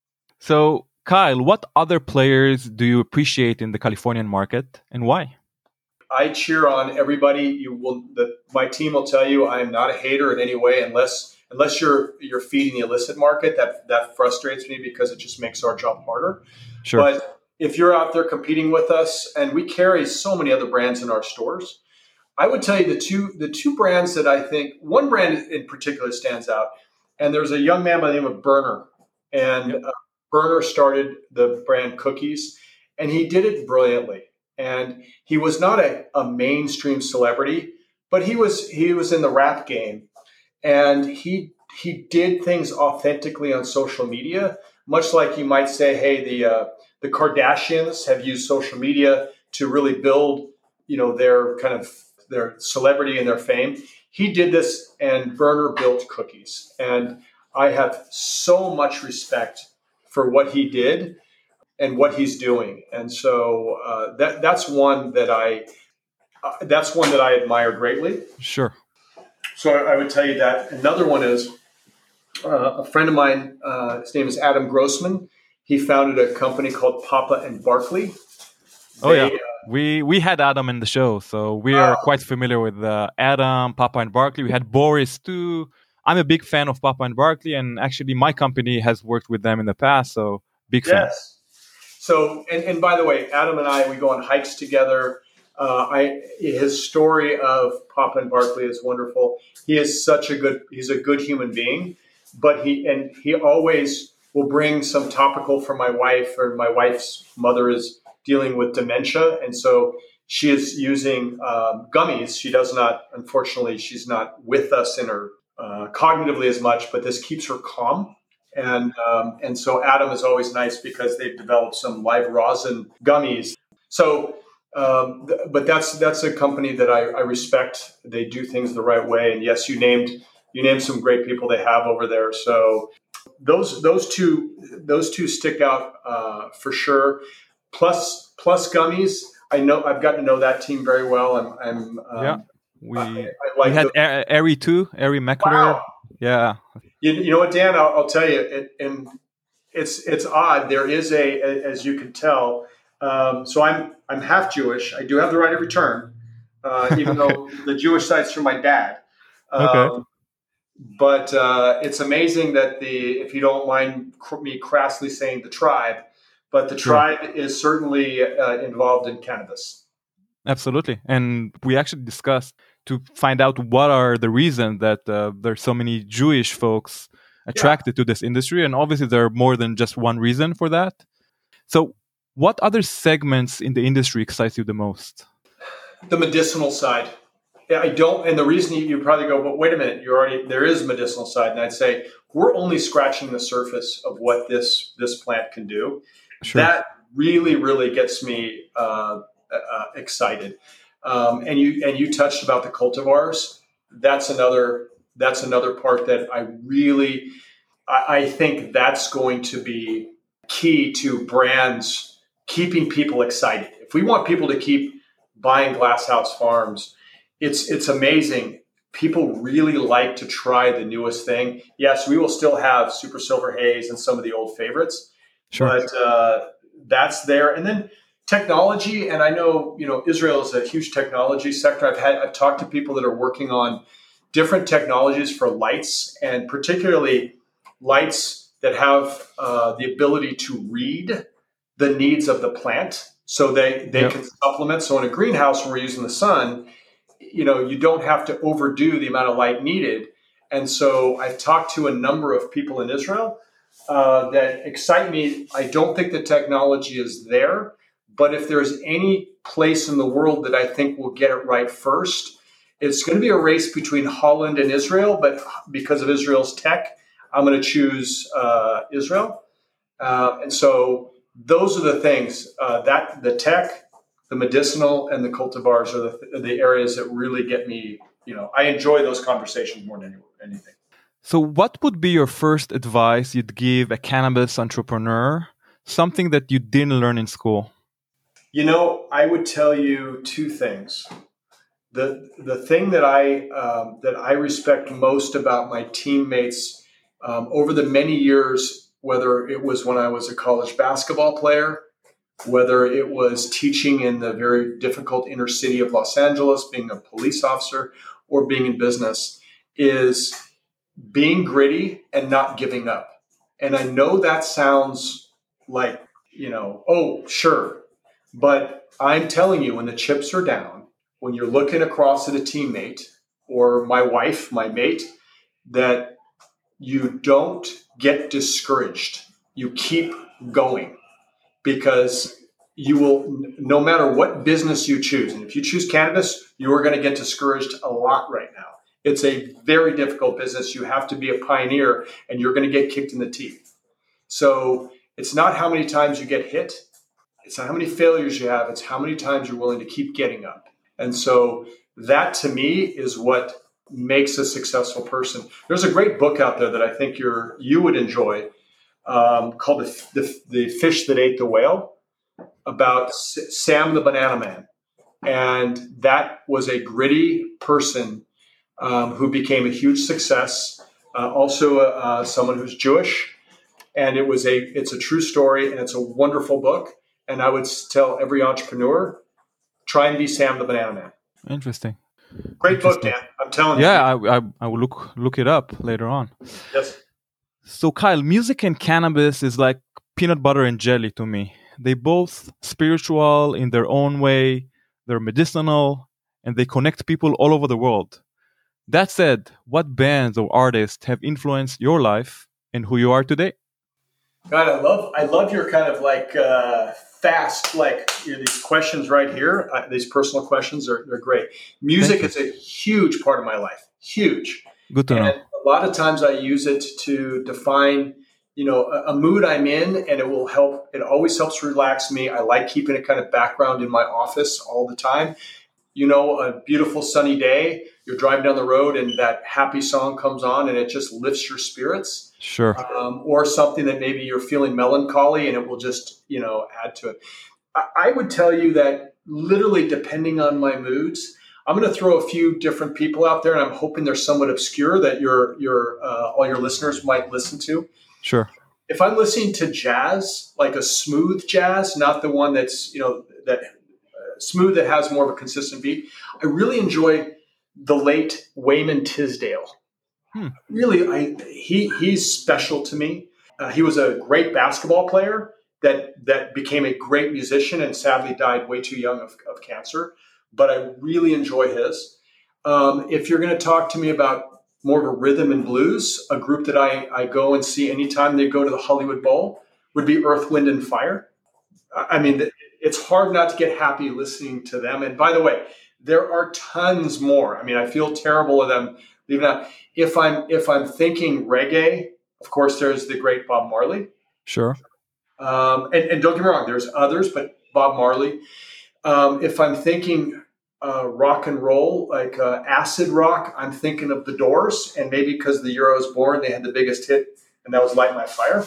So, Kyle, what other players do you appreciate in the Californian market and why? I cheer on everybody. You will. The, my team will tell you I am not a hater in any way, unless unless you're you're feeding the illicit market. That that frustrates me because it just makes our job harder. Sure. But if you're out there competing with us, and we carry so many other brands in our stores, I would tell you the two the two brands that I think, one brand in particular stands out. And there's a young man by the name of Berner, and Yep. uh, Berner started the brand Cookies, and he did it brilliantly. And he was not a, a mainstream celebrity, but he was he was in the rap game, and he he did things authentically on social media, much like you might say, hey, the uh, the Kardashians have used social media to really build, you know, their kind of their celebrity and their fame. He did this, and Berner built Cookies, and I have so much respect for what he did and what he's doing, and so uh, that that's one that I uh, that's one that I admire greatly. Sure. So I would tell you that. Another one is uh, a friend of mine. Uh, his name is Adam Grossman. He founded a company called Papa and Barkley. Oh They, yeah, uh, we we had Adam in the show, so we are Oh. quite familiar with uh, Adam, Papa and Barkley. We had Boris too. I'm a big fan of Papa and Barkley, and actually my company has worked with them in the past, so big fan. Yes. So, and, and by the way, Adam and I, we go on hikes together. Uh, I his story of Papa and Barkley is wonderful. He is such a good, he's a good human being, but he, and he always will bring some topical for my wife, or my wife's mother is dealing with dementia. And so she is using um, gummies. She does not, unfortunately, she's not with us in her uh, cognitively as much, but this keeps her calm. And um, and so Adam is always nice because they've developed some live rosin gummies. So, um, th- but that's that's a company that I, I respect. They do things the right way. And yes, you named you named some great people they have over there. So those those two those two stick out uh, for sure. Plus plus gummies. I know I've gotten to know that team very well. I'm, I'm um, yeah, we I, I like we had the, A- Ari too, Ari Meckler. wow. Yeah, You, you know what, Dan? I'll, I'll tell you, it, and it's it's odd. There is a, as you can tell. Um, so I'm I'm half Jewish. I do have the right of return, uh, even okay. though the Jewish side's from my dad. Okay. Um, but uh, it's amazing that the, if you don't mind cr- me crassly saying the tribe, but the Sure. tribe is certainly uh, involved in cannabis. Absolutely. And we actually discussed to find out what are the reasons that uh, there's so many Jewish folks attracted to this industry. And obviously there are more than just one reason for that. So what other segments in the industry excites you the most? The medicinal side. Yeah, I don't, and the reason you, you probably go, but wait a minute, you're already, there is a medicinal side. And I'd say we're only scratching the surface of what this, this plant can do. Sure. That really, really gets me uh, uh, excited. Um, and you and you touched about the cultivars. That's another that's another part that I really I, I think that's going to be key to brands keeping people excited. If we want people to keep buying Glasshouse Farms, it's it's amazing. People really like to try the newest thing. Yes, we will still have Super Silver Haze and some of the old favorites, Sure. but uh, that's there. And then technology, and I know, you know, Israel is a huge technology sector. I've had I've talked to people that are working on different technologies for lights, and particularly lights that have uh, the ability to read the needs of the plant, so they they Yep. can supplement. So in a greenhouse where we're using the sun, you know, you don't have to overdo the amount of light needed. And so I've talked to a number of people in Israel uh, that excite me. I don't think the technology is there, but if there's any place in the world that I think will get it right first, it's going to be a race between Holland and Israel. But because of Israel's tech, I'm going to choose uh, Israel. Uh, and so those are the things uh, that the tech, the medicinal, and the cultivars are the, the areas that really get me. You know, I enjoy those conversations more than anything. So what would be your first advice you'd give a cannabis entrepreneur, something that you didn't learn in school? You know, I would tell you two things. The the thing that I um, that I respect most about my teammates um, over the many years, whether it was when I was a college basketball player, whether it was teaching in the very difficult inner city of Los Angeles, being a police officer, or being in business, is being gritty and not giving up. And I know that sounds like, you know, oh, sure. But I'm telling you, when the chips are down, when you're looking across at a teammate or my wife, my mate, that you don't get discouraged. You keep going, because you will, no matter what business you choose, and if you choose cannabis, you are going to get discouraged a lot right now. It's a very difficult business. You have to be a pioneer, and you're going to get kicked in the teeth. So it's not how many times you get hit. It's not how many failures you have. It's how many times you're willing to keep getting up. And so that, to me, is what makes a successful person. There's a great book out there that I think you're you would enjoy, um, called the, the the Fish That Ate the Whale, about S- Sam the Banana Man. And that was a gritty person um, who became a huge success. Uh, also, uh, someone who's Jewish, and it was a it's a true story, and it's a wonderful book. And I would tell every entrepreneur, try and be Sam the Banana Man. Interesting. Great book, Interesting. Dan. I'm telling Yeah, you. I, I I will look look it up later on. Yes. So Kyle, music and cannabis is like peanut butter and jelly to me. They both spiritual in their own way, they're medicinal, and they connect people all over the world. That said, what bands or artists have influenced your life and who you are today? God, I love I love your kind of like uh, fast, like you know, these questions right here. Uh, these personal questions are they're great. Music is a huge part of my life, huge. Good to and know. A lot of times I use it to define, you know, a, a mood I'm in, and it will help. It always helps relax me. I like keeping a kind of background in my office all the time. You know, a beautiful sunny day, you're driving down the road and that happy song comes on and it just lifts your spirits. Sure. Um, or something that maybe you're feeling melancholy and it will just, you know, add to it. I, I would tell you that literally depending on my moods. I'm going to throw a few different people out there, and I'm hoping they're somewhat obscure that your your uh, all your listeners might listen to. Sure. If I'm listening to jazz, like a smooth jazz, not the one that's you know that uh, smooth that has more of a consistent beat, I really enjoy the late Wayman Tisdale. Hmm. Really, I he he's special to me. Uh, he was a great basketball player that that became a great musician and sadly died way too young of, of cancer. But I really enjoy his. Um, if you're going to talk to me about more of a rhythm and blues, a group that I, I go and see anytime they go to the Hollywood Bowl would be Earth, Wind, and Fire. I mean, it's hard not to get happy listening to them. And by the way, there are tons more. I mean, I feel terrible of them leaving out. If I'm if I'm thinking reggae, of course, there's the great Bob Marley. Sure. Um, and, and don't get me wrong, there's others, but Bob Marley. Um, if I'm thinking uh, rock and roll, like uh, acid rock, I'm thinking of The Doors. And maybe because the year I was born, they had the biggest hit, and that was Light My Fire.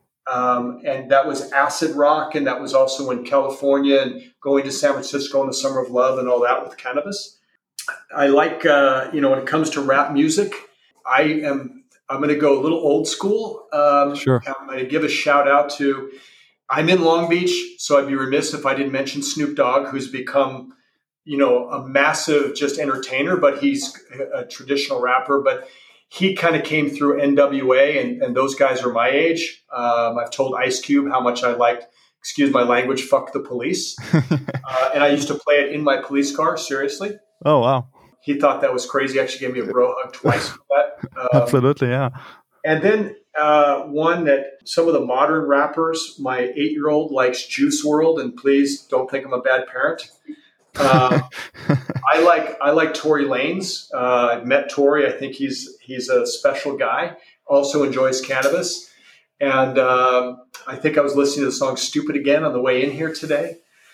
Um, and that was acid rock, and that was also in California and going to San Francisco in the Summer of Love and all that with Cannabis. I like, uh, you know, when it comes to rap music, I am, I'm going to go a little old school. Um, Sure. I'm going to give a shout out to, I'm in Long Beach, so I'd be remiss if I didn't mention Snoop Dogg, who's become, you know, a massive just entertainer, but he's a traditional rapper. But he kind of came through N W A, and, and those guys are my age. Um, I've told Ice Cube how much I liked, excuse my language, fuck the police. uh, and I used to play it in my police car, seriously. Oh, wow. He thought that was crazy. Actually gave me a bro hug twice for that. Um, Absolutely, yeah. And then uh, one that some of the modern rappers, my eight-year-old likes Juice world, and please don't think I'm a bad parent. Uh, I like I like Tory Lanez. Uh, I've met Tory. I think he's he's a special guy. Also enjoys Cannabis. And um, I think I was listening to the song "Stupid Again" on the way in here today.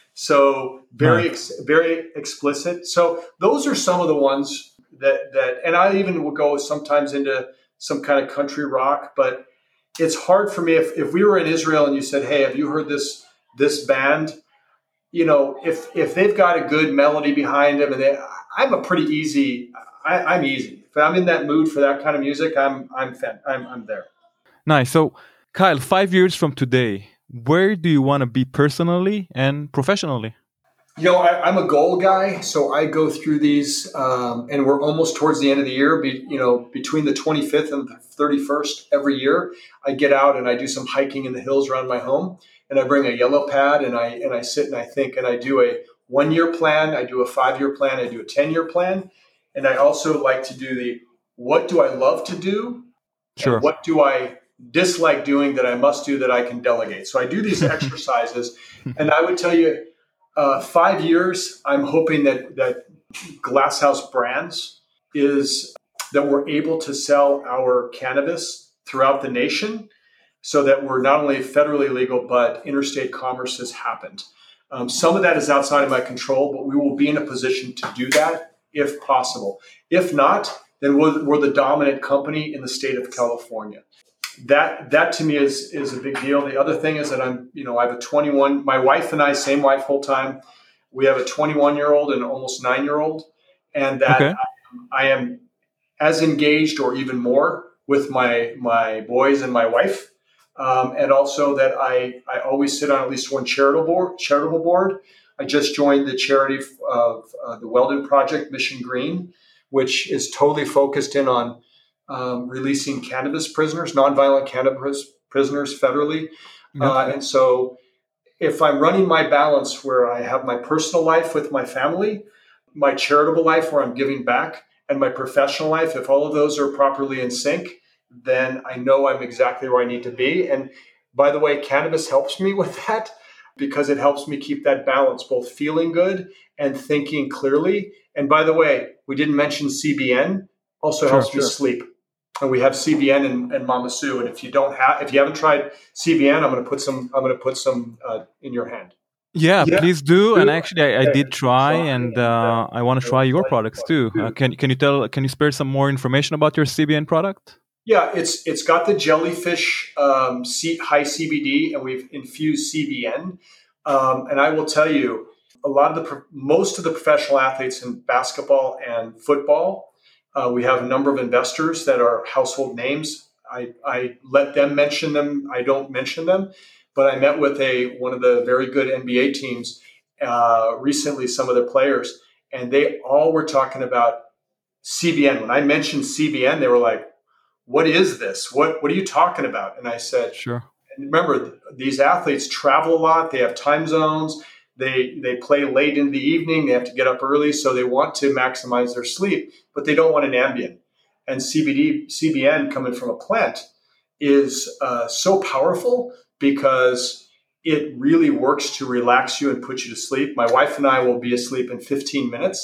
So very ex- very explicit. So those are some of the ones that that, and I even will go sometimes into some kind of country rock. But it's hard for me if if we were in Israel and you said, "Hey, have you heard this this band?" You know, if if they've got a good melody behind them, and they, I'm a pretty easy. I, I'm easy. If I'm in that mood for that kind of music, I'm I'm fan, I'm I'm there. Nice. So, Kyle, five years from today, where do you want to be personally and professionally? You know, I, I'm a goal guy, so I go through these, um, and we're almost towards the end of the year. Be, you know, between the twenty-fifth and the thirty-first every year, I get out and I do some hiking in the hills around my home, and I bring a yellow pad and I and I sit and I think, and I do a one-year plan, I do a five-year plan, I do a ten-year plan, and I also like to do the what do I love to do, Sure. and what do I dislike doing that I must do that I can delegate. So I do these exercises, and I would tell you. Uh, five years, I'm hoping that, that Glasshouse Brands is that we're able to sell our cannabis throughout the nation so that we're not only federally legal, but interstate commerce has happened. Um, some of that is outside of my control, but we will be in a position to do that if possible. If not, then we're, we're the dominant company in the state of California. That that to me is is a big deal. The other thing is that I'm, you know, I have a twenty-one, my wife and I, same wife full time. We have a twenty-one year old and almost nine year old. And that Okay. I, I am as engaged or even more with my my boys and my wife. Um, and also that I, I always sit on at least one charitable board, charitable board. I just joined the charity of uh, the Weldon Project, Mission Green, which is totally focused in on Um, releasing cannabis prisoners, nonviolent cannabis prisoners federally. Yep. Uh, and so if I'm running my balance where I have my personal life with my family, my charitable life where I'm giving back, and my professional life, if all of those are properly in sync, then I know I'm exactly where I need to be. And by the way, cannabis helps me with that because it helps me keep that balance, both feeling good and thinking clearly. And by the way, we didn't mention C B N, also Sure, helps me sure. sleep. And we have C B N and, and Mama Sue. And if you don't have, if you haven't tried C B N, I'm going to put some. I'm going to put some uh, in your hand. Yeah, Yeah. please do. And actually, I, I did try, and uh, I want to try your products too. Uh, can can you tell? Can you spare some more information about your C B N product? Yeah, it's it's got the jellyfish um, C, high C B D, and we've infused C B N. Um, and I will tell you, a lot of the, most of the professional athletes in basketball and football, uh, we have a number of investors that are household names. I, I let them mention them. I don't mention them, but I met with a, one of the very good N B A teams uh, recently, some of the players, and they all were talking about C B N. When I mentioned C B N, they were like, what is this? What, what are you talking about? And I said, sure. And remember, these athletes travel a lot. They have time zones. They they play late in the evening. They have to get up early, so they want to maximize their sleep, but they don't want an Ambien. And C B D, C B N coming from a plant is uh, so powerful because it really works to relax you and put you to sleep. My wife and I will be asleep in fifteen minutes.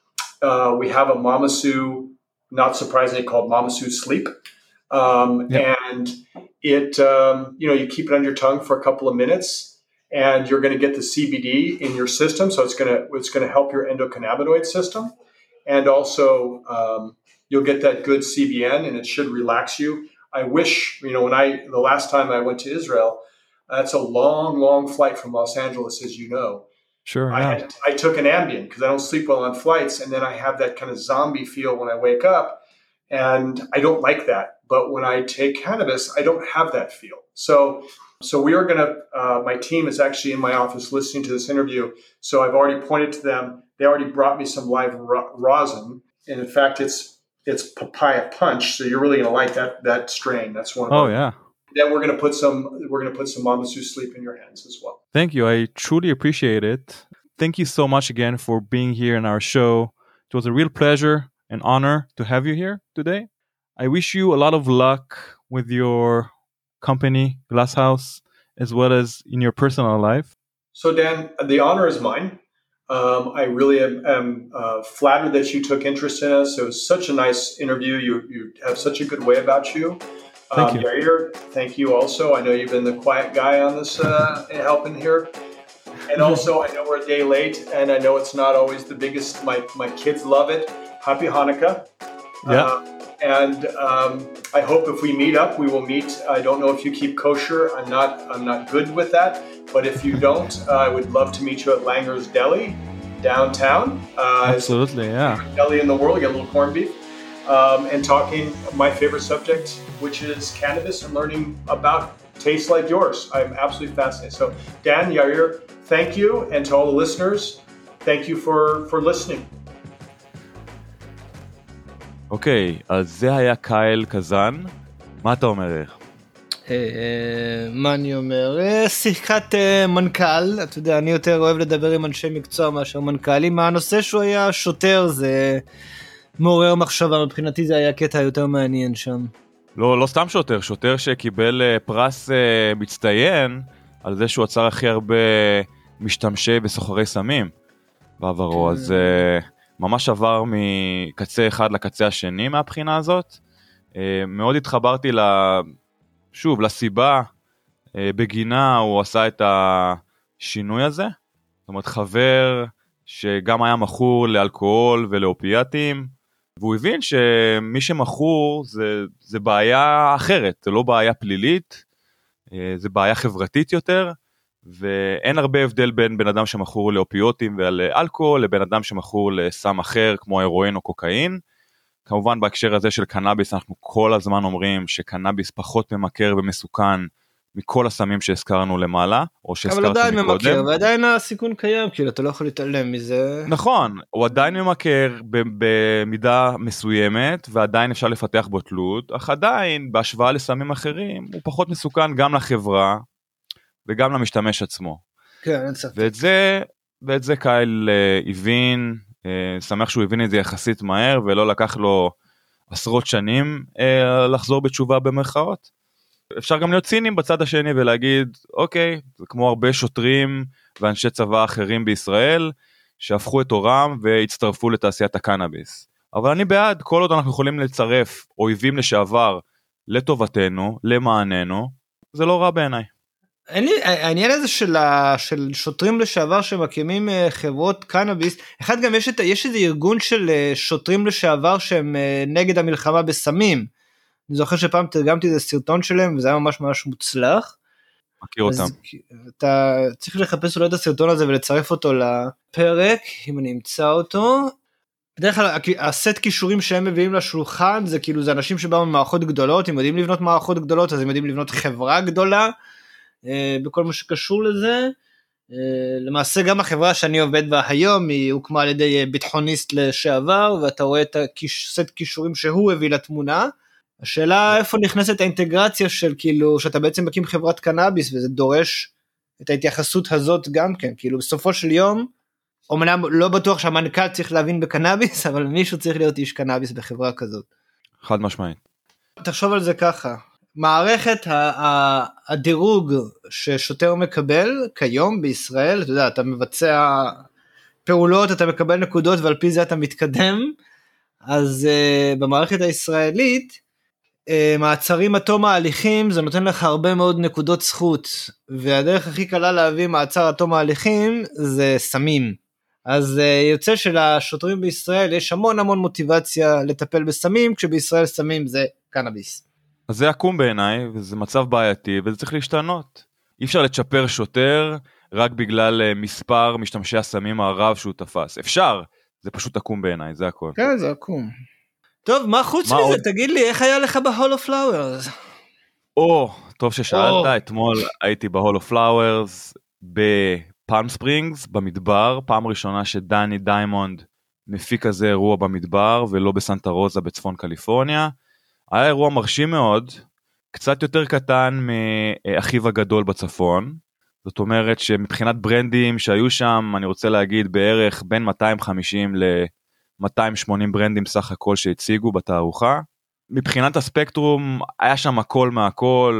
Uh, we have a Mama Sue, not surprisingly called Mama Sue Sleep. Um, yep. And it, um, you know, you keep it on your tongue for a couple of minutes, and you're going to get the C B D in your system. So it's going to, it's going to help your endocannabinoid system. And also, um, you'll get that good C B N, and it should relax you. I wish, you know, when I, the last time I went to Israel, that's a long, long flight from Los Angeles, as you know. Sure. I, yeah. had, I took an Ambien because I don't sleep well on flights. And then I have that kind of zombie feel when I wake up. And I don't like that. But when I take cannabis, I don't have that feel. So so we are going to, uh, my team is actually in my office listening to this interview. So I've already pointed to them. They already brought me some live ro- rosin. And in fact, it's it's papaya punch. So you're really going to like that that strain. That's one of Oh, our, yeah. Then we're going to put some, we're going to put some Mama Sue Sleep in your hands as well. Thank you. I truly appreciate it. Thank you so much again for being here in our show. It was a real pleasure and honor to have you here today. I wish you a lot of luck with your company, Glasshouse, as well as in your personal life. So Dan, the honor is mine. Um, I really am, am uh, flattered that you took interest in us. It was such a nice interview. You you have such a good way about you. Thank um, you. Yair, thank you also. I know you've been the quiet guy on this uh, helping here. And also, I know we're a day late, and I know it's not always the biggest. My my kids love it. Happy Hanukkah. Yeah. Uh, and um, I hope if we meet up, we will meet. I don't know if you keep kosher. I'm not. I'm not good with that. But if you don't, uh, I would love to meet you at Langer's Deli downtown. Uh, Absolutely, yeah. Deli in the world. Get a little corned beef, um, and talking my favorite subject, which is cannabis, and learning about tastes like yours. I'm absolutely fascinated. So, Dan, Yair, thank you, and to all the listeners, thank you for for listening. אוקיי, אז זה היה קייל קזן. מה אתה אומר? מה אני אומר? שיחת מנכ"ל, אתה יודע, אני יותר אוהב לדבר עם אנשי מקצוע מאשר מנכ"לים. הנושא שהוא היה שוטר, זה מעורר מחשבה, מבחינתי זה היה קטע יותר מעניין שם. לא, לא סתם שוטר, שוטר שקיבל פרס מצטיין על זה שהוא עצר הכי הרבה משתמשי וסוחרי סמים בעברו, אז ממש עבר מקצה אחד לקצה השני מהבחינה הזאת. מאוד התחברתי ל... שוב, לסיבה בגינה הוא עשה את השינוי הזה. זאת אומרת, חבר שגם היה מכור לאלכוהול ולאופיאטים, והוא הבין שמי שמכור זה, זה בעיה אחרת, זה לא בעיה פלילית, זה בעיה חברתית יותר, ואין הרבה הבדל בין בן אדם שמכור לאופיוטים ולאלכוהול, לבין אדם שמכור לסם אחר כמו הרואין או קוקאין. כמובן בהקשר הזה של קנאביס אנחנו כל הזמן אומרים שקנאביס פחות ממכר ומסוכן מכל הסמים שהזכרנו למעלה, או שהזכרתי מקודם. אבל עדיין ממכר, ועדיין הסיכון קיים, כאילו אתה לא יכול להתעלם מזה. נכון, הוא עדיין ממכר במידה מסוימת, ועדיין אפשר לפתח בו תלות, אך עדיין בהשוואה לסמים אחרים, הוא פחות מסוכן גם לחברה, וגם למשתמש עצמו. כן, אין ספק. ואת זה, ואת זה קייל הבין, שמח שהוא הבין את זה יחסית מהר, ולא לקח לו עשרות שנים לחזור בתשובה במרכאות. אפשר גם להיות ציניים בצד השני ולהגיד, אוקיי, זה כמו הרבה שוטרים ואנשי צבא אחרים בישראל, שהפכו את אורם והצטרפו לתעשיית הקנאביס. אבל אני בעד, כל עוד אנחנו יכולים לצרף אויבים לשעבר לטובתנו, למעננו, זה לא רע בעיניי. העניין הזה של, של שוטרים לשעבר שמקימים חברות קנאביס, אחד גם יש, את, יש איזה ארגון של שוטרים לשעבר שהם נגד המלחמה בסמים, אני זוכר שפעם תרגמתי איזה סרטון שלהם וזה היה ממש ממש מוצלח, מכיר אותם. אתה צריך לחפש אולי את הסרטון הזה ולצרף אותו לפרק, אם אני אמצא אותו. בדרך כלל הסט קישורים שהם מביאים לשולחן, זה כאילו זה אנשים שבאו ממערכות גדולות, הם יודעים לבנות מערכות גדולות, אז הם יודעים לבנות חברה גדולה, בכל מה שקשור לזה. למעשה גם החברה שאני עובד בה היום, היא הוקמה על ידי ביטחוניסט לשעבר, ואתה רואה את הסט קישורים שהוא הביא לתמונה. השאלה איפה נכנסת האינטגרציה של כאילו, שאתה בעצם מקים חברת קנאביס, וזה דורש את ההתייחסות הזאת גם כן, כאילו בסופו של יום, אומנם לא בטוח שהמנכ"ל צריך להבין בקנאביס, אבל מישהו צריך להיות איש קנאביס בחברה כזאת. חד משמעית. תחשוב על זה ככה, מערכת הדירוג ששוטר מקבל כיום בישראל, אתה יודע, אתה מבצע פעולות, אתה מקבל נקודות, ועל פי זה אתה מתקדם, אז uh, במערכת הישראלית, uh, מעצרים עד תום ההליכים, זה נותן לך הרבה מאוד נקודות זכות, והדרך הכי קלה להביא מעצר עד תום ההליכים, זה סמים. אז uh, יוצא שלשוטרים בישראל, יש המון המון מוטיבציה לטפל בסמים, כשבישראל סמים זה קנאביס. אז זה עקום בעיניי, וזה מצב בעייתי, וזה צריך להשתנות. אי אפשר לצ'פר שוטר, רק בגלל מספר משתמשי הסמים הרב שהוא תפס. אפשר, זה פשוט עקום בעיניי, זה הכל. כן, זה עקום. טוב, מה חוץ מה מזה? עוד? תגיד לי, איך היה לך בהול אוף פלאוורס? או, טוב ששאלת, או. אתמול הייתי בהול אוף פלאוורס, בפלם ספרינגס, במדבר, פעם ראשונה שדני דיימונד מפיק כזה אירוע במדבר, ולא בסנטה רוזה בצפון קליפורניה. היה אירוע מרשים מאוד, קצת יותר קטן מאחיו הגדול בצפון, זאת אומרת שמבחינת ברנדים שהיו שם, אני רוצה להגיד בערך בין מאתיים וחמישים ל-מאתיים ושמונים ברנדים סך הכל שהציגו בתערוכה. מבחינת הספקטרום היה שם הכל מהכל,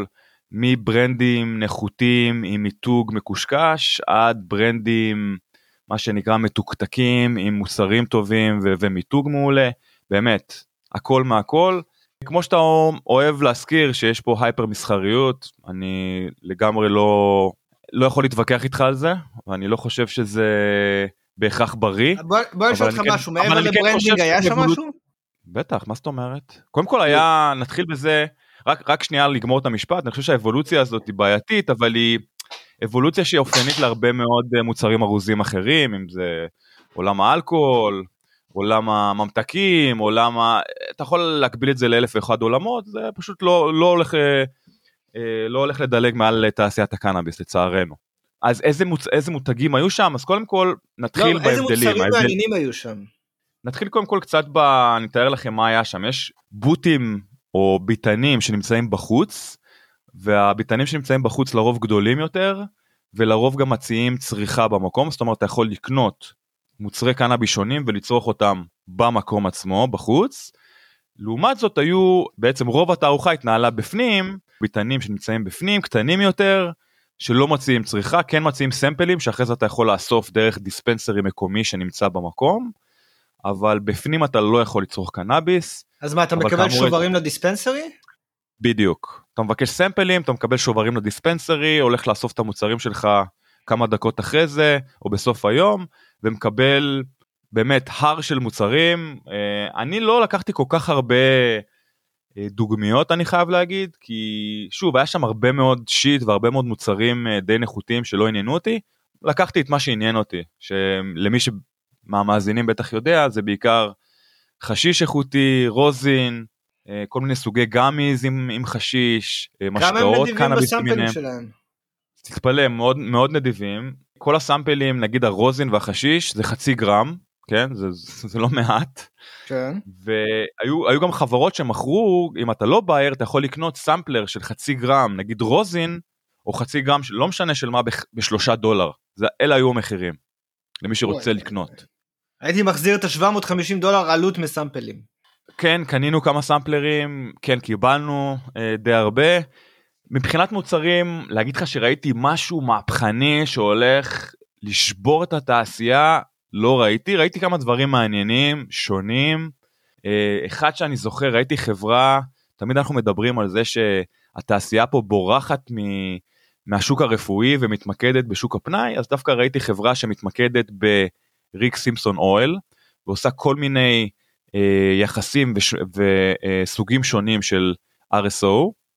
מברנדים נחותים עם מיתוג מקושקש, עד ברנדים מה שנקרא מתוקתקים עם מוצרים טובים ו- ומיתוג מעולה, באמת הכל מהכל. כמו שאתה אוהב להזכיר שיש פה הייפר מסחריות, אני לגמרי לא, לא יכול להתווכח איתך על זה, ואני לא חושב שזה בהכרח בריא. בוא, בוא נשאל אותך משהו, מעבר לברנדינג היה שם משהו? בטח, מה זאת אומרת? קודם כל היה, נתחיל בזה, רק, רק שנייה לגמור את המשפט, אני חושב שהאבולוציה הזאת היא בעייתית, אבל היא אבולוציה שהיא אופיינית להרבה מאוד מוצרים ארוזים אחרים, אם זה עולם האלכוהול, עולם הממתקים, עולם ה... אתה יכול להקביל את זה לאלף ואחד עולמות, זה פשוט לא, לא, הולך, לא הולך לדלג מעל תעשיית הקנאביס, לצערנו. אז איזה, מוצ... איזה מותגים היו שם? אז קודם כל נתחיל לא, בהבדלים. איזה מוצרים מעניינים היו שם? נתחיל קודם כל קצת ב... אני אתאר לכם מה היה שם. יש בוטים או ביטנים שנמצאים בחוץ, והביטנים שנמצאים בחוץ לרוב גדולים יותר, ולרוב גם מציעים צריכה במקום, זאת אומרת אתה יכול לקנות מוצרי קנאביס שונים ולצרוך אותם במקום עצמו, בחוץ. לעומת זאת היו, בעצם רוב התערוכה התנהלה בפנים, ביטנים שנמצאים בפנים, קטנים יותר, שלא מציעים צריכה, כן מציעים סמפלים, שאחרי זה אתה יכול לאסוף דרך דיספנסרי מקומי שנמצא במקום, אבל בפנים אתה לא יכול לצרוך קנאביס. אז מה, אתה מקבל שוברים את... לדיספנסרי? בדיוק. אתה מבקש סמפלים, אתה מקבל שוברים לדיספנסרי, הולך לאסוף את המוצרים שלך כמה דקות אחרי זה, או בסוף היום, ומקבל באמת הר של מוצרים. אני לא לקחתי כל כך הרבה דוגמיות, אני חייב להגיד, כי שוב, היה שם הרבה מאוד שיט, והרבה מאוד מוצרים די נחותים שלא עניינו אותי. לקחתי את מה שעניין אותי, שלמי שמאזינים בטח יודע, זה בעיקר חשיש איכותי, רוזין, כל מיני סוגי גמיז עם, עם חשיש, משקאות, קנאביס למיניהם. תתפלא, מאוד, מאוד נדיבים. כל הסמפלים, נגיד הרוזין והחשיש, זה חצי גרם, כן? זה, זה, זה לא מעט. כן. והיו היו גם חברות שמכרו, אם אתה לא בייר, אתה יכול לקנות סמפלר של חצי גרם, נגיד רוזין, או חצי גרם, לא משנה של מה, בשלושה דולר. זה, אלה היו המחירים, למי שרוצה לקנות. הייתי מחזיר את ה-שבע מאות וחמישים דולר עלות מסמפלים. כן, קנינו כמה סמפלרים, כן, קיבלנו אה, די הרבה. מבחינת מוצרים, להגיד לך שראיתי משהו מהפכני שהולך לשבור את התעשייה, לא ראיתי, ראיתי כמה דברים מעניינים, שונים. אחד שאני זוכר, ראיתי חברה, תמיד אנחנו מדברים על זה שהתעשייה פה בורחת מהשוק הרפואי ומתמקדת בשוק הפנאי, אז דווקא ראיתי חברה שמתמקדת בריק סימפסון אויל, ועושה כל מיני יחסים וסוגים שונים של אר אס או,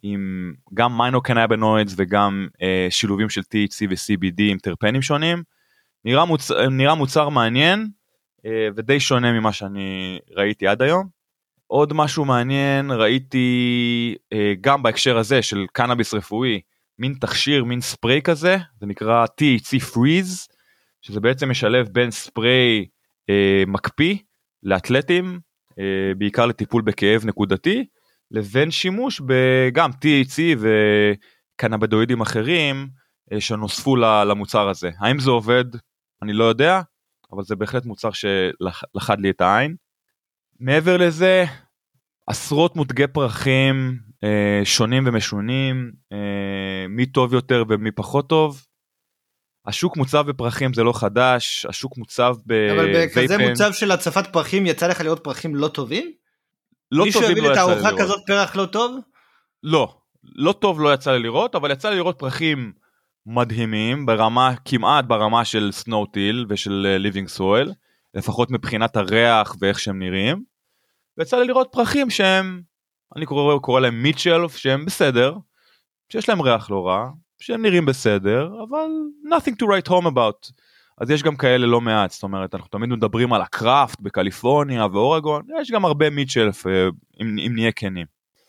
עם גם מיינוקנבינואידס וגם אה, שילובים של טי אייץ' סי ו-סי בי די עם טרפנים שונים, נראה, מוצ... נראה מוצר מעניין אה, ודי שונה ממה שאני ראיתי עד היום. עוד משהו מעניין, ראיתי אה, גם בהקשר הזה של קנאביס רפואי, מין תכשיר, מין ספרי כזה, זה נקרא טי אייץ' סי Freeze, שזה בעצם משלב בין ספרי אה, מקפיא לאתלטים, אה, בעיקר לטיפול בכאב נקודתי, לבין שימוש בגם טי אייץ' סי וקנאבידואידים אחרים, אה, שנוספו למוצר הזה. האם זה עובד? אני לא יודע, אבל זה בהחלט מוצר שלחד לי את העין. מעבר לזה, עשרות מותגי פרחים אה, שונים ומשונים, אה, מי טוב יותר ומי פחות טוב. השוק מוצב בפרחים זה לא חדש, השוק מוצב בווייפן. אבל בכזה מוצב של הצפת פרחים, יצא לך לראות פרחים לא טובים? לא מישהו טובים הביא לא את יצא לי הארוחה לראות. כזאת פרח לא טוב? לא, לא טוב לא יצא לי לראות, אבל יצא לי לראות פרחים מדהימים, ברמה, כמעט ברמה של סנואוטיל ושל ליבינג סויל, לפחות מבחינת הריח ואיך שהם נראים. ויצא לי לראות פרחים שהם, אני קורא, קורא להם מיטשלף, שהם בסדר, שיש להם ריח לא רע, שהם נראים בסדר, אבל nothing to write home about. אז יש גם כאלה לא מעט, זאת אומרת, אנחנו תמיד מדברים על הקראפט בקליפורניה ואורגון, יש גם הרבה מיטשלף, אם, אם נהיה כנים.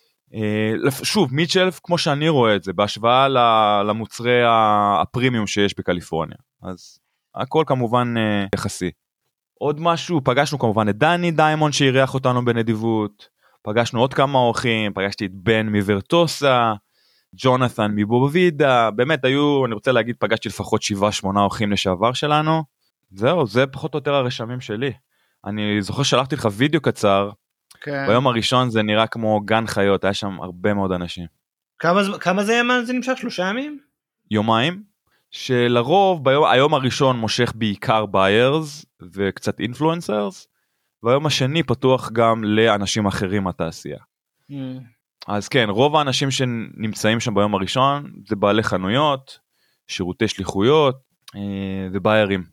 שוב, מיטשלף, כמו שאני רואה את זה, בהשוואה למוצרי הפרימיום שיש בקליפורניה, אז הכל כמובן יחסי. עוד משהו, פגשנו כמובן את דני דיימון שהריח אותנו בנדיבות, פגשנו עוד כמה אורחים, פגשתי את בן מוורטוסה, ג'ונת'ן מבובוידה, באמת היו, אני רוצה להגיד, פגשתי לפחות שבעה שמונה אורחים לשעבר שלנו, זהו, זה פחות או יותר הרשמים שלי. אני זוכר שלחתי לך וידאו קצר, כן. ביום הראשון זה נראה כמו גן חיות, היה שם הרבה מאוד אנשים. כמה, כמה זה ימן? זה נמשך? שלושה ימים? יומיים, שלרוב ביום, היום הראשון מושך בעיקר ביירס וקצת אינפלואנסרס, והיום השני פתוח גם לאנשים אחרים מהתעשייה. Mm. אז כן, רוב האנשים שנמצאים שם ביום הראשון, זה בעלי חנויות, שירותי שליחויות וביירים.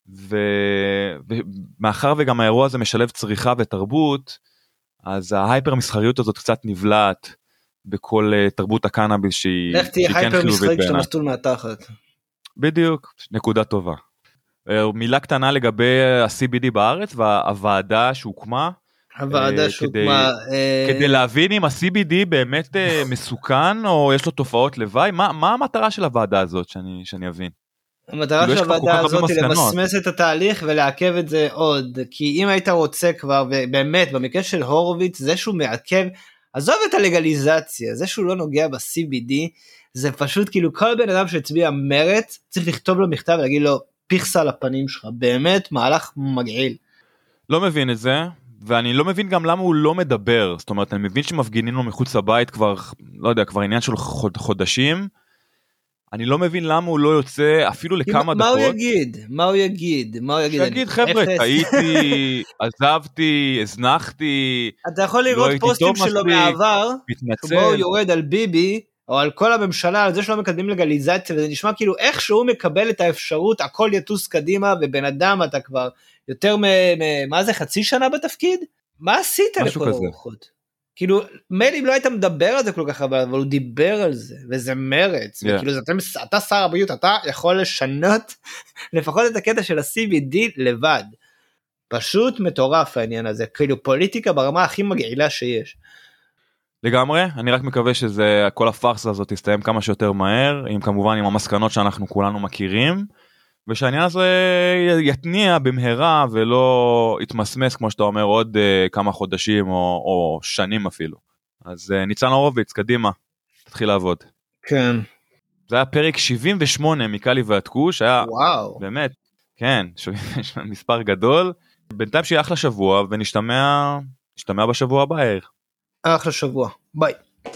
ומאחר וגם האירוע הזה משלב צריכה ותרבות, אז ההייפר מסחריות הזאת קצת נבלעת בכל תרבות הקנאביס שהיא לך תהיה הייפר מסחרית שאתה מסטול מהתחת. בדיוק, נקודה טובה. מילה קטנה לגבי ה-סי בי די בארץ והוועדה שהוקמה, הוועדה שהוקמה כדי להבין אם ה-סי בי די באמת מסוכן או יש לו תופעות לוואי, מה המטרה של הוועדה הזאת שאני אבין? המטרה של הוועדה הזאת היא למסמס את התהליך ולעכב את זה עוד, כי אם היית רוצה כבר, ובאמת במקרה של הורוביץ, זה שהוא מעכב, עזוב את הלגליזציה, זה שהוא לא נוגע ב-סי בי די, זה פשוט כאילו כל בן אדם שהצביע מרץ, צריך לכתוב לו מכתב ולהגיד לו, פיכסה על הפנים שלך, באמת מהלך מגעיל. לא מבין את זה, ואני לא מבין גם למה הוא לא מדבר, זאת אומרת, אני מבין שמפגינים לו מחוץ לבית כבר, לא יודע, כבר עניין של חודשים, אני לא מבין למה הוא לא יוצא אפילו לכמה דקות. מה הוא יגיד? מה הוא יגיד? מה הוא יגיד? שיגיד, חבר'ה, טעיתי, עזבתי, הזנחתי. אתה יכול לראות פוסטים שלו מעבר, שבו הוא יורד על ביבי, או על כל הממשלה, על זה שלא מקדמים לגליזציה, וזה נשמע כאילו איך שהוא מקבל את האפשרות, הכל יטוס קדימה, ובן אדם אתה כבר יותר מ... מה זה, חצי שנה בתפקיד? מה עשית לכל הרוחות? כאילו, מילא אם לא היית מדבר על זה כל כך הרבה, אבל הוא דיבר על זה, וזה מרץ, yeah. וכאילו, אתה, אתה שר הבריאות, אתה יכול לשנות לפחות את הקטע של ה-סי בי די לבד. פשוט מטורף העניין הזה, כאילו פוליטיקה ברמה הכי מגעילה שיש. לגמרי, אני רק מקווה שזה, כל הפרסה הזאת תסתיים כמה שיותר מהר, עם כמובן עם המסקנות שאנחנו כולנו מכירים, ושהעניין הזה יתניע במהרה ולא יתמסמס, כמו שאתה אומר, עוד uh, כמה חודשים או, או שנים אפילו. אז uh, ניצן הורוביץ, קדימה, תתחיל לעבוד. כן. זה היה פרק שבעים ושמונה מקלי ועד כוש, היה וואו. באמת, כן, מספר גדול. בינתיים שיהיה אחלה שבוע, ונשתמע נשתמע בשבוע הבא. אחלה שבוע, ביי.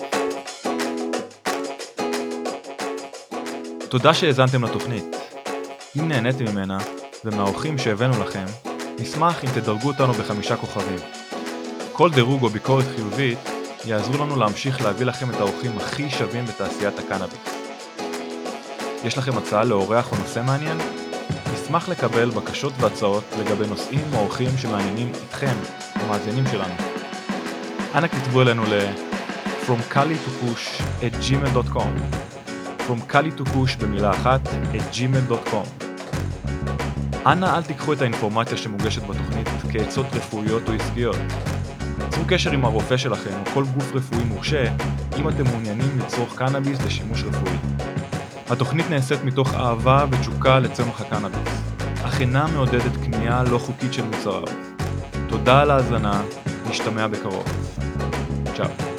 תודה שהאזנתם לתוכנית. אם נהניתם ממנה, ומהאורחים שהבאנו לכם, נשמח אם תדרגו אותנו בחמישה כוכבים. כל דירוג או ביקורת חיובית יעזרו לנו להמשיך להביא לכם את האורחים הכי שווים בתעשיית הקנאביס. יש לכם הצעה לאורח או נושא מעניין? נשמח לקבל בקשות והצעות לגבי נושאים או אורחים שמעניינים אתכם, המאזינים שלנו. אנא כתבו אלינו ל from kali to kush at gmail dot com from kali to kush במילה אחת at gmail dot com. אנא אל תיקחו את האינפורמציה שמוגשת בתוכנית כעצות רפואיות או עסקיות. צרו קשר עם הרופא שלכם או כל גוף רפואי מורשה אם אתם מעוניינים לצרוך קנאביס לשימוש רפואי. התוכנית נעשית מתוך אהבה ותשוקה לצמח הקנאביס, אך אינה מעודדת קנייה לא חוקית של מוצריו. תודה על ההאזנה, נשתמע בקרוב. צ'או.